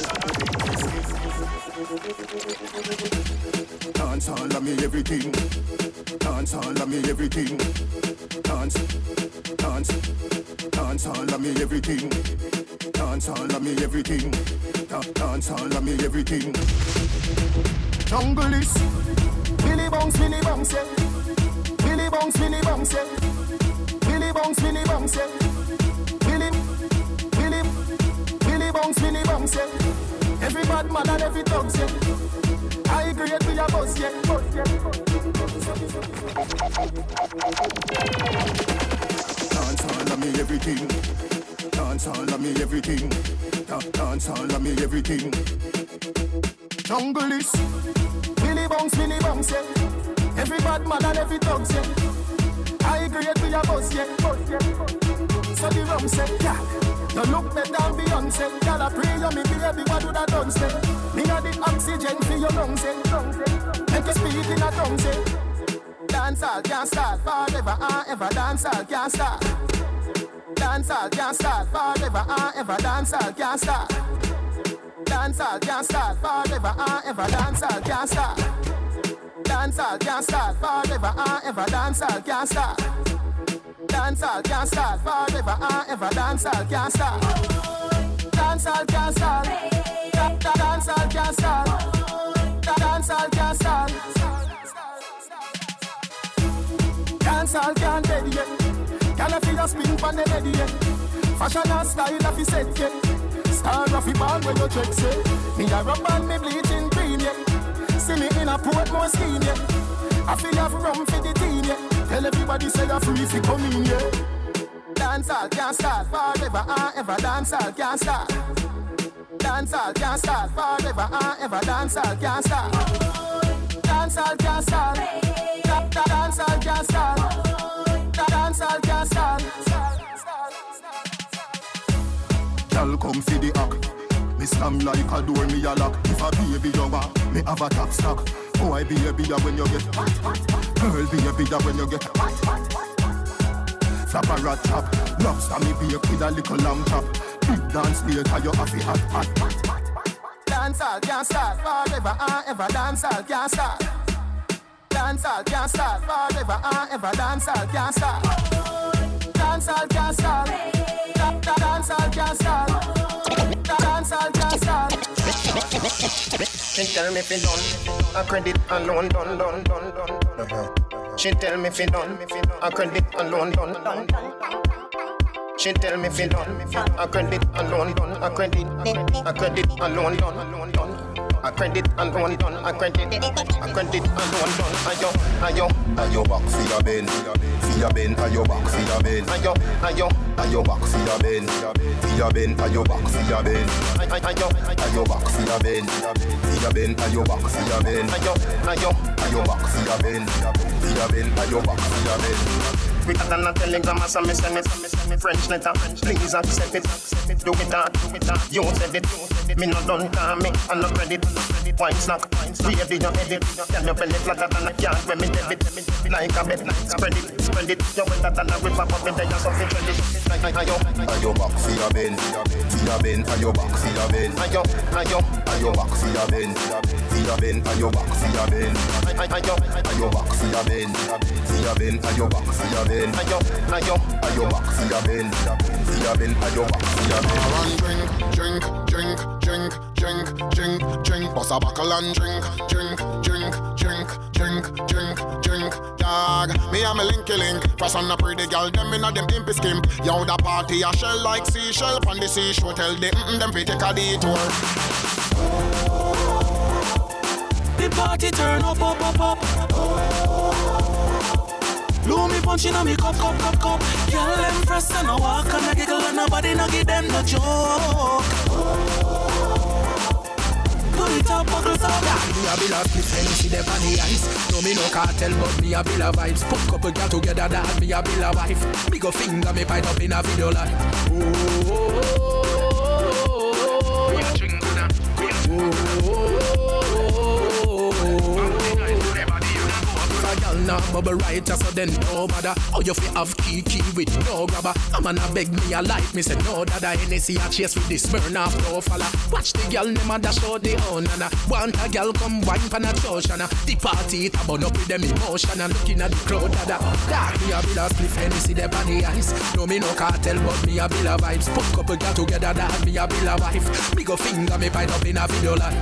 X: dance all of me everything. Dance all of me everything. Dance all of me everything. Dance all of me everything. Dance all of me everything. Jungle is Billy Bounce, yeah. Billy Bounce, yeah. Billy Bounce, yeah. Billy Bounce, yeah. Every bad man and every dog, yeah. I agree with your boss, yeah. Dance all of me everything. Dance all of me everything. Dance all of me everything. Jungle is Billy Bounce, yeah. Every bad man and every dog, yeah. I agree with your boss, yeah. So the rum say, yeah. You look better than Beyonce. Girl, I pray you me baby, what would I done say? Me a the oxygen for your lungs, say. Make you speak in a tongue, say. Dance all can't start forever and ever. Dance all can't start. Dance all can't start forever and ever. Dance all can't start. Dance all can't start forever and ever. Dance all can't start. Dance all can't start forever and ever. Dance all can't start. Dance all can't start forever and ever. Dance all can't start. Dance all can't start. Dance all can't start. Dance all can't start. Dance all can't dead yet. Can I feel your spin from the lady yet? Fashion and style of the set yet. Star of the band when you check say. Me a rub and me bleaching green yet. See me in a Portmore scheme yet. I feel have rum for the team yet. Tell everybody say you're free if you come in yet. Dance all can't start forever and ever. Dance all can't start. Dance all can't start forever and ever. Dance all can't start. Dance all can't start. Dance all can't start. Dance all can't start. Girl come see the act. Me slam like a door, me a lock. If a baby you want, me have a top stock. Oh, I be a beer when you get. Girl be a beer when you get. Flap a rat chop. Lobster me bake with a little lamb chop. Big dance later you have it hot. Dance all can't start forever and ever. Dance all can't start. Dance all can't start forever and ever. Dance all can't start. Dance all can't start. Dance all can't start. Dance all can't start. She tell me fi done. A credit alone done. She tell me fi done. A credit alone done. She tell me fi done. A credit alone done. A credit alone done. A credit alone done. A credit alone done. Ayo back for your ben. For your ben. Ayo back for your ben. Ayo back for your ben. For your ben. Ayo back for your ben. Ayo back for your ben. For your ben. Ayo back for your ben. Ayo back for your ben. For your ben. Ayo back for your ben. Quicker than a telegram as a send it. French letter, please accept it. Do it hard, you said it. Me no done call me, I'm not ready. Wine snack, baby you edit. Can you belly flatter than a can when me debit. Like a bed, spread it. You wetter than a river, but me there you something credit. Ayo back for your ben. For your ben, ayo back for your ben. Ayo back for your ben. For your ben, ayo back for your ben. Ayo back for your ben. For your ben, ayo back for your ben. Ayo back for your ben. For your ben, ayo back for your ben.
O: Drink a buckle and drink, drink, drink, drink, drink, drink, drink, dog. Me and me linky link. Frost on the pretty girl, them inna them impy skimp. Yo, the party a shell like seashell. Pon the seashore, tell them fi take a detour.
B: The party turn up, up, up, up. Blow me punch inna me cup, cup, cup, cup. Girl, them fresh and a walk and a giggle and nobody no give them no joke. Put it up, buckles up.
K: Me a bill of defense, see them on the ice. No me no cartel, but me a bill of vibes. Put couple girl together, that me a bill of wife. Me go finger me pipe up in a video line. Now bubble right so then no matter. Oh you fi have key with no grabber. I'm gonna beg me a light, me say no dada. Hennessy a chase with this Smirnoff no fella. Watch the girl them a dash out the own and want a girl come wine pan a ocean. The party it a burn up with them emotion and looking at the crowd dada. Dark me a bill of spliff Hennessy them on the ice. No me no cartel but me a bill of vibes. Put couple girl together that me a bill of wife. Me go finger me pipe up in a video line.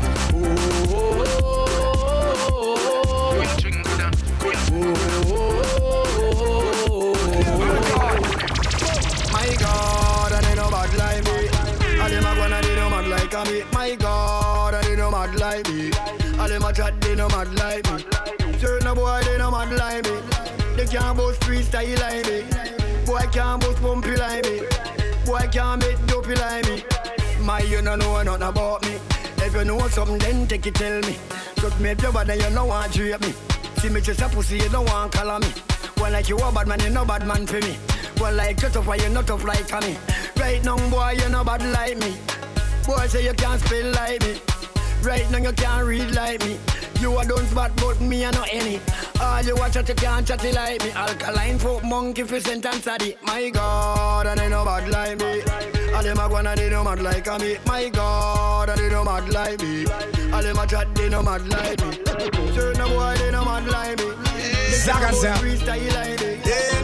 C: My God, and they no bad like me. And them a go and they no mad like me. My God, and they no mad like me. And them a chat, they no mad like me. Certain boy, they no mad like me. They can't boast freestyle like me. Boy can't boast bumpy like me. Boy can't make dopey like me. My, you don't know nothing about me. If you know something, then take it, tell me. Just make your bad and you don't want to rape me. See me just a pussy, you don't want to call me. Well, like you a bad man, you no bad man for me. Well, like just tough, you not tough like me. Right now, boy, you no bad like me. Boy, say you can't spell like me. Right now, you can't read like me. You a don't spot, but me a no any. All you watch at you can't chatty like me. Alkaline folk monkey for sentence at it. My God, and they no bad like me. And them a go and they no mad like me. My God, and they no mad like me. And them a chat, they no mad like me. Certain boy, they no mad like me.
N: Zaga Zap.
C: Freestyle like me.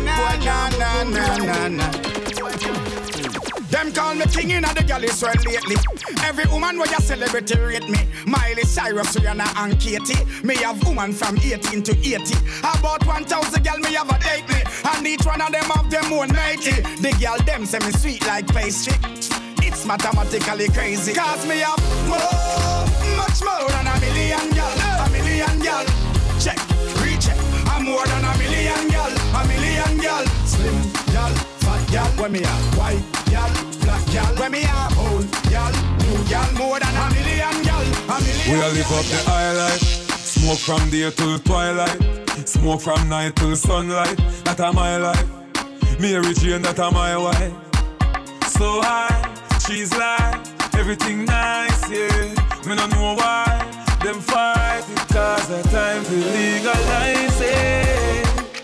N: Na. Them call me king in the galleys well lately. Every woman where you celebrity rate me. Miley Cyrus, Rihanna and Katie. Me have woman from 18 to 80. About 1,000 girl me have a date me. And each one of them have them own matey. The girl them say me sweet like pastry. It's mathematically crazy. Cause me have much more than a million girl. A million girl. Check, recheck. I'm more than a million girl. A million girl. Slim girl. Fat gal, when me a white gal, black gal, when me a old gal, new gal, more than a million gal, a million.
U: We all live up the high life, smoke from day till twilight, smoke from night till sunlight. That a my life, Mary Jane, that a my wife. So high, she's like everything nice, yeah. Me no know why them fight because the time to legalize it.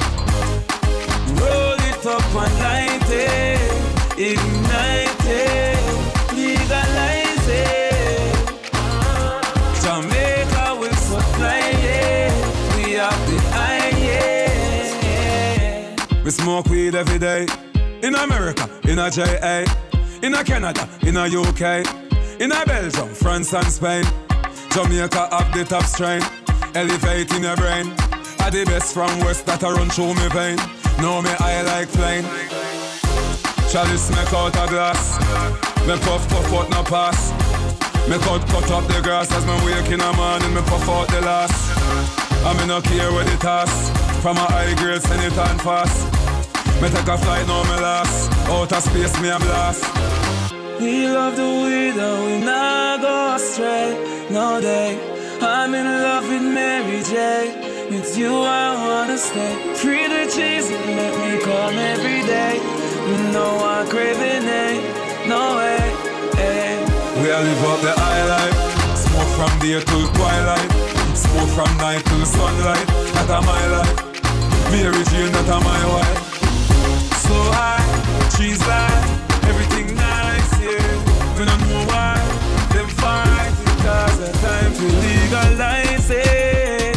U: Roll it up and light it, ignite it, legalize it. Jamaica will supply it. We have the highest. We smoke weed every day. In America, in a JA, in a Canada, in a UK, in a Belgium, France and Spain. Jamaica have the top strain, elevating your brain. Are the best from West that I run through me vein. Know me I like plain. Chalice make out a glass. Me puff out no pass. Me cut up the grass as me wake in the morning. Me puff out the last. I me no care where the toss. From a high grade send it on fast. Me take a flight now me last. Out of space me a blast. We love the weed and we not go astray. No day. I'm in love with Mary J. It's you I wanna stay. Free the cheese and let me come every day. You know I'm craving it. No way, hey. We all live up the high life. Smoke from day till twilight. Smoke from night till sunlight. That a my life. Mary Jane, that a my wife. So high, she's like everything nice, yeah. We don't know why them fight because the time to legalize it.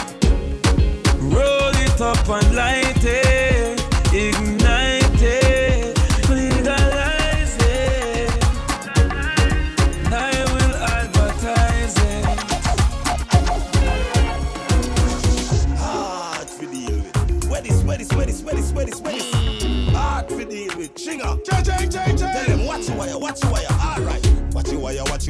U: Roll it up and light it, ignite it, legalize it. I will advertise it.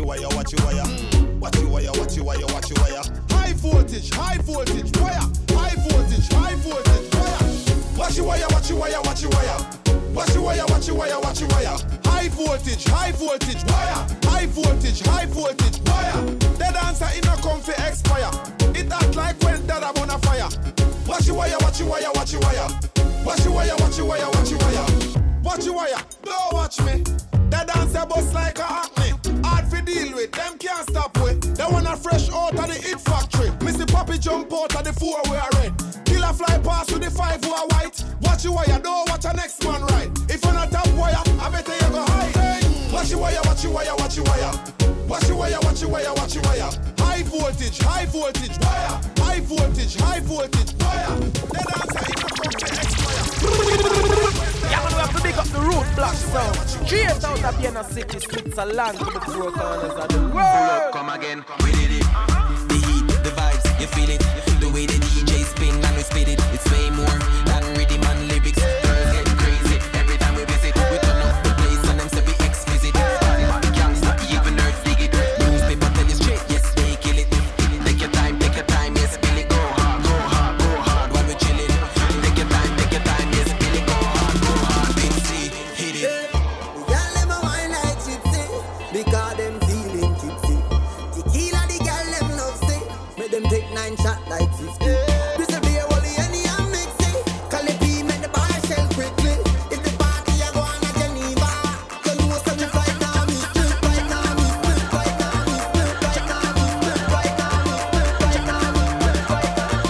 P: your wire, watch your wire. Watch your wire, watch your wire, watch your wire. High voltage wire. High voltage wire. Watch your wire, watch your wire, watch your wire. Watch your wire, watch your wire, watch your wire. High voltage wire. High voltage wire. The dancer in a comfy expire. It act like when that I'm on a fire. Watch your wire, watch your wire, watch your wire. Watch your wire, watch your wire, watch your wire. Watch your wire, don't watch me. The dancer bust like a acne. Hard to deal with, them can't stop with. They wanna fresh out of the hit factory. Missy Poppy jump out of the 4 we are red. Killer fly past with the 5 who are white. Watch your wire, don't watch a next man right. If you're not top wire, I better you go high. Hey. Watch your wire, watch your wire, watch your wire. Watch your wire, watch your wire, watch your wire. High voltage wire. High voltage wire. The dancer in the country expire.
L: Yeah, man, we have to pick up the root black sound. Straight out of Vienna City, Switzerland, to the 4 corners of the world.
R: Come again, we did it. The heat, the vibes, you feel it. The way the DJ spin and we spit it. It's way more than rhythm and lyrics. Girls get crazy every time we visit. We turn up the place and them say we exquisite. Gangsta, even nerds dig it. Newspaper tell you straight, yes, they kill it. Take your time, yes, spill it. Go hard, while we chillin'. Take your time, yes, spill it. Go hard, big C, hit it.
F: Y'all let me wine like gypsy, because them feeling tipsy. Tequila, the girl them love say, make them take 9 shots like 50. This will be a wally any and mix it. Call it P, make the bar shell quickly. If the party I go on a Geneva, you know some right now, me split right now, me split right now, me split right now, me split right now, me split right now, me split right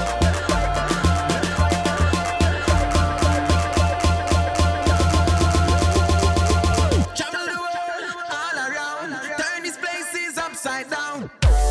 R: Travel the world, all around. Turn these places upside down.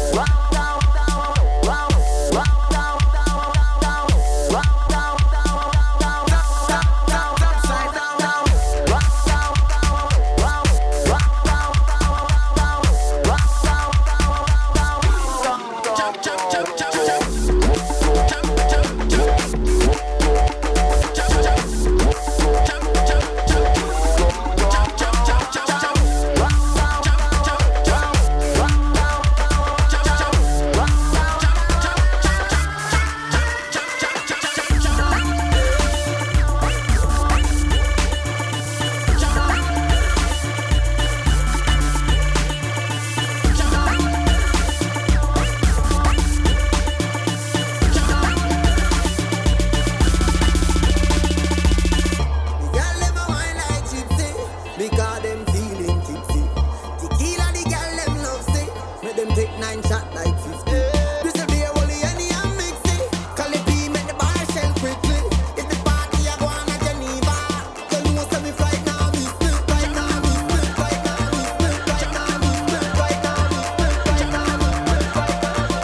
F: Y'all let me wine like gypsy, because them feeling tipsy. Tequila, the girl them love say, make them take 9 shots like 50. This will be a wally any and mix it. Call it P, make the bar shell quickly. If the party I go on a Geneva, you know some right now, me split right now, me split right now, me split right now, me split right now, me split right now, me split right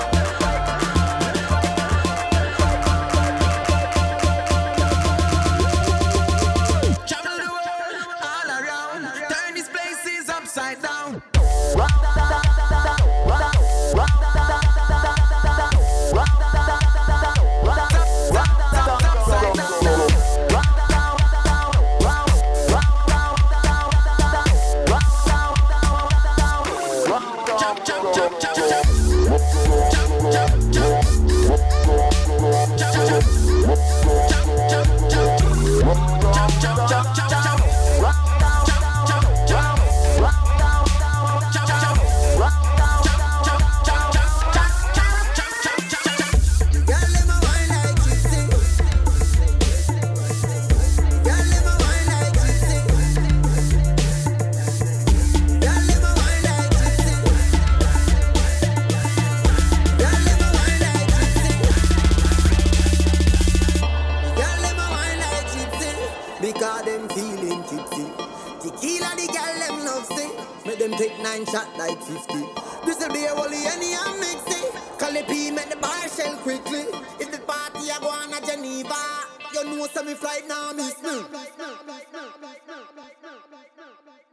R: Travel the world, all around. Turn these places upside down.
F: Y'all let me wine like gypsy. Y'all let me wine like gypsy. Y'all let me wine like gypsy. Y'all let me wine like gypsy. Y'all let me wine like gypsy, because them feeling tipsy. Tequila, the girl them love say, make them take 9 shots like 50. This will be a wally any and mix it. Call it P, make the bar shell quickly. If the party I go on a Geneva, you know some flight now, me smooth.